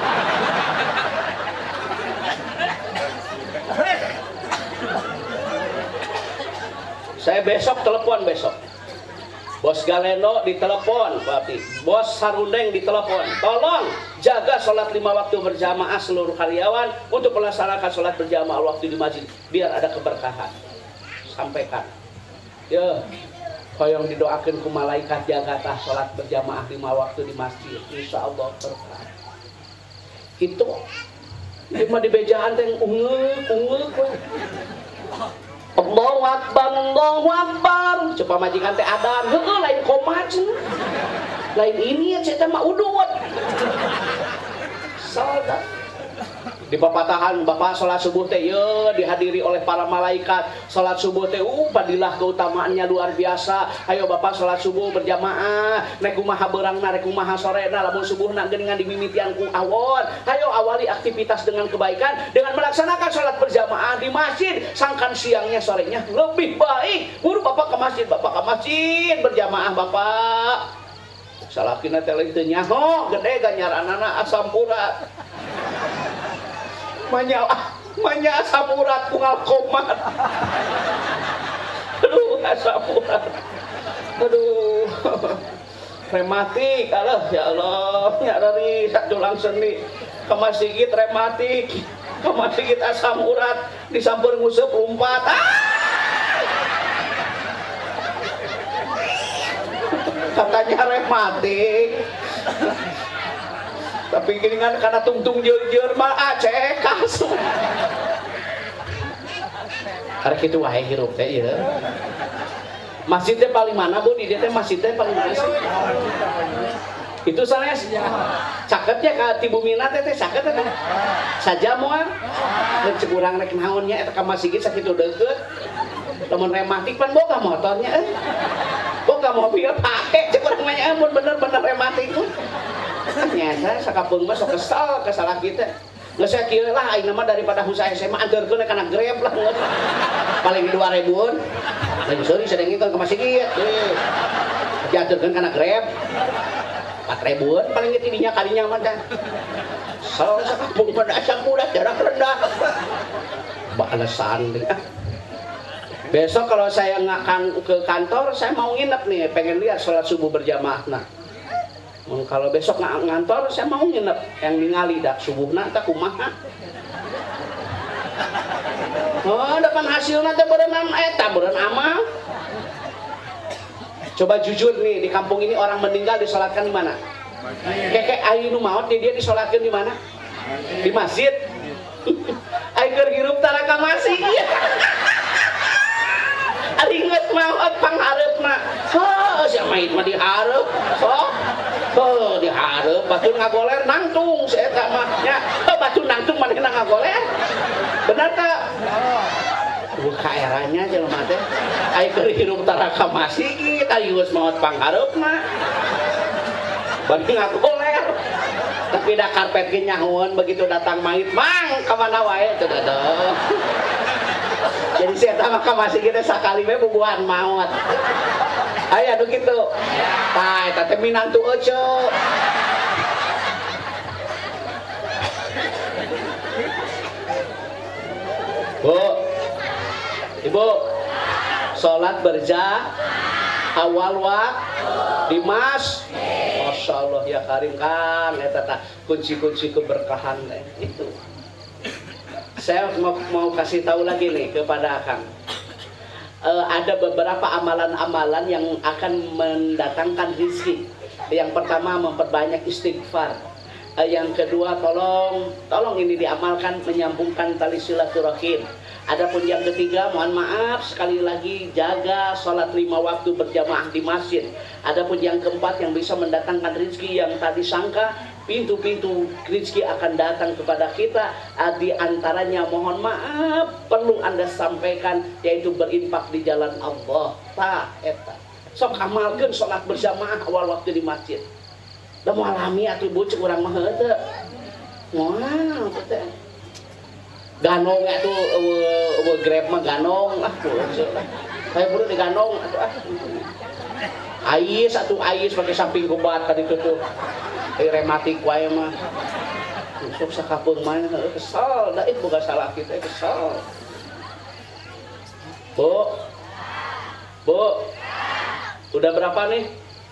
Saya besok telepon besok. Bos Galeno ditelepon, berarti Bos Sarundeng ditelepon. Tolong jaga sholat 5 waktu berjamaah seluruh karyawan untuk melaksanakan sholat berjamaah waktu di masjid biar ada keberkahan. Sampaikan. Ya, koyong didoakan ku malaikat jaga tah sholat berjamaah 5 waktu di masjid. Insya Allah berkah. Itu. Ini mah di bejaan teh ungeuk. Allahu Akbar, Allahu Akbar. Coba majikan teh adan, heueuh lain komat. Lain ini ya teh mah udut. Salat. Di papatahan Bapak salat subuh teh ye dihadiri oleh para malaikat. Salat subuh teh padilah keutamaannya luar biasa. Ayo Bapak salat subuh berjamaah. Rek kumaha beurangna, rek kumaha sorena lamun subuhna geuningan dimimitian ku awon. Ayo awali aktivitas dengan kebaikan dengan melaksanakan salat berjamaah di masjid. Sangkan siangnya sorenya lebih baik. Buru Bapak ke masjid, Bapak ke masjid berjamaah Bapak. Salakina teh teu nyaho gede ganyaranana asam urat. Manya asam urat kungal komat. Aduh asam urat. Aduh. Rematik, ya Allah, ya dari sadulang seni ke masjid rematik, ke masjid asam urat disampur nguseup lumpat. Katanya rematik. Tapi gini kan karena tungtung jeur mah cek kasu. Karena gitu wae hirup teh ieu. Masjid teh paling mana Bu? Di teh masjid teh paling mana sih? Itu sanes. Caketnya ka ti bumina teh caket teh. Saja moal. Mun cek urang rek naon nya eta ka masjid sakitu deukeut. Lamun rematik pan boga motornya boga mobil pake cek urang mah mun bener-bener rematik. Nyata sakapeung mah sok kesal kesalah kita. Geus saya kieu lah aing mah daripada usaha SMA anterkeun kana Grab lah. Paling 2000-an. Lagi sorry sedang ngikon ke masjid ieu. Dianterkeun kana Grab. 4000-an paling tidinya kalinya mah teh. Salah sakapeung mah dasar kuda jarak rendah. Balasan deh. Besok kalau saya ngakan ke kantor saya mau nginep nih, pengen lihat sholat subuh berjamaah. Nah. Kalau besok ngantor saya mau nginep yang ningali dah subuhna teh kumaha. Oh, depan hasilna teh berenam eta beureun amal. Coba jujur nih di kampung ini orang meninggal disalatkan di mana? Keke ayu nu maot di dia disolatkeun di mana? Di masjid. Ai keur hirup tara ka masjid. Ari geus maot panghareupna. Heuh, sia mait mah dihareup. Sok. Heuh, dihareup batur ngagoler nangtung si eta mah nya. Heuh, batur nangtung manehna ngagoler. Bener tah? Kaeranya jelema teh ai keur hirup tara ka masjid, ai geus maot panghareupna. Bari ngagoler. Tapi da karpet ge nyahoeun begitu datang mait, "Mang, ka mana wae?" Teu dadeuh. Jadi si eta mah ka masjid kita sakali we bubuhan maot. Aya anu kitu. Tah eta teh minantu ece. Bu, Ibu, sholat awal waktu Dimas, Masya Allah ya karim kan, eta kunci-kunci keberkahan itu. Saya mau kasih tahu lagi nih kepada Akang. Ada beberapa amalan-amalan yang akan mendatangkan rezeki. Yang pertama memperbanyak istighfar. Yang kedua tolong ini diamalkan menyambungkan tali silaturahim. Adapun yang ketiga, mohon maaf sekali lagi jaga sholat 5 waktu berjamaah di masjid. Adapun yang keempat yang bisa mendatangkan rezeki yang tadi sangka pintu-pintu rezeki akan datang kepada kita. Di antaranya mohon maaf perlu Anda sampaikan yaitu berinfak di jalan Allah. Eta. Sok amalkeun sholat berjamaah awal waktu di masjid. Da moal alami atuh bucuk urang mah heunteu. Moal teh. Ganong atuh Grab mah ganong saya buru di ganong ais pakai samping kubat tadi tuh rematik wae mah sok sakapeung mah kesal da itu boga salah kita kesal. Bu udah berapa nih?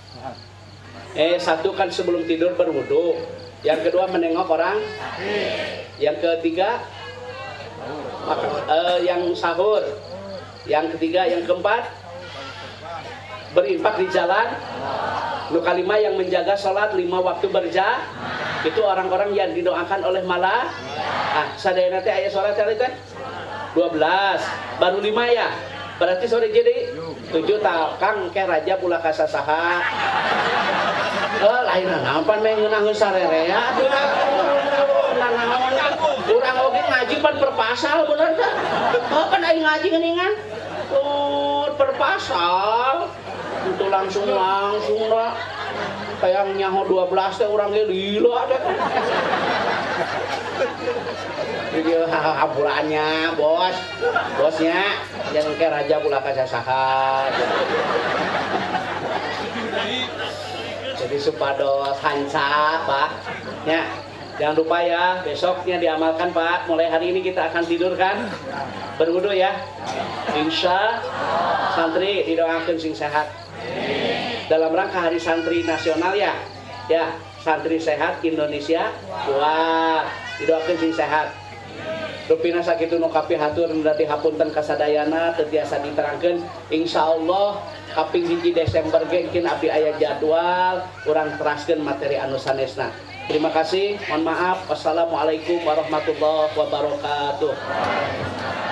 Satu kan sebelum tidur berwudu, yang kedua menengok orang, yang ketiga yang sahur, yang ketiga, yang keempat berinfak di jalan. Nu kalima yang menjaga sholat 5 waktu berjamaah. Itu orang-orang yang didoakan oleh malaikat. Sadayana teh aya sholat tadi teh 12, baru 5 ya. Berarti sore jadi 7 tah Kang ke raja pula kasasaha. Lain naon meh ngeunaheun sarerea atuh. Urang oge ngaji pan perpasal bener teh. Kan aing ngaji geuningan. Perpasal. Itu langsung lah. Kayak nyaho 12 teh urang ge lila teh. Video haburannya bosnya yang ke raja pula kasasaha. Jadi supados hanca Pak ya, jangan lupa ya besoknya diamalkan Pak. Mulai hari ini kita akan tidur kan berwudu ya, insya santri didoakan sing sehat dalam rangka hari santri nasional ya santri sehat Indonesia kuat didoakan sing sehat. Rupina sakitu nu kapihatur berarti hapunten kasadayana tetiasa diterangkeun insyaallah kaping 1 Desember ge engkeun abdi aya jadwal urang teraskeun materi anu sanesna. Terima kasih, mohon maaf. Wassalamualaikum warahmatullahi wabarakatuh.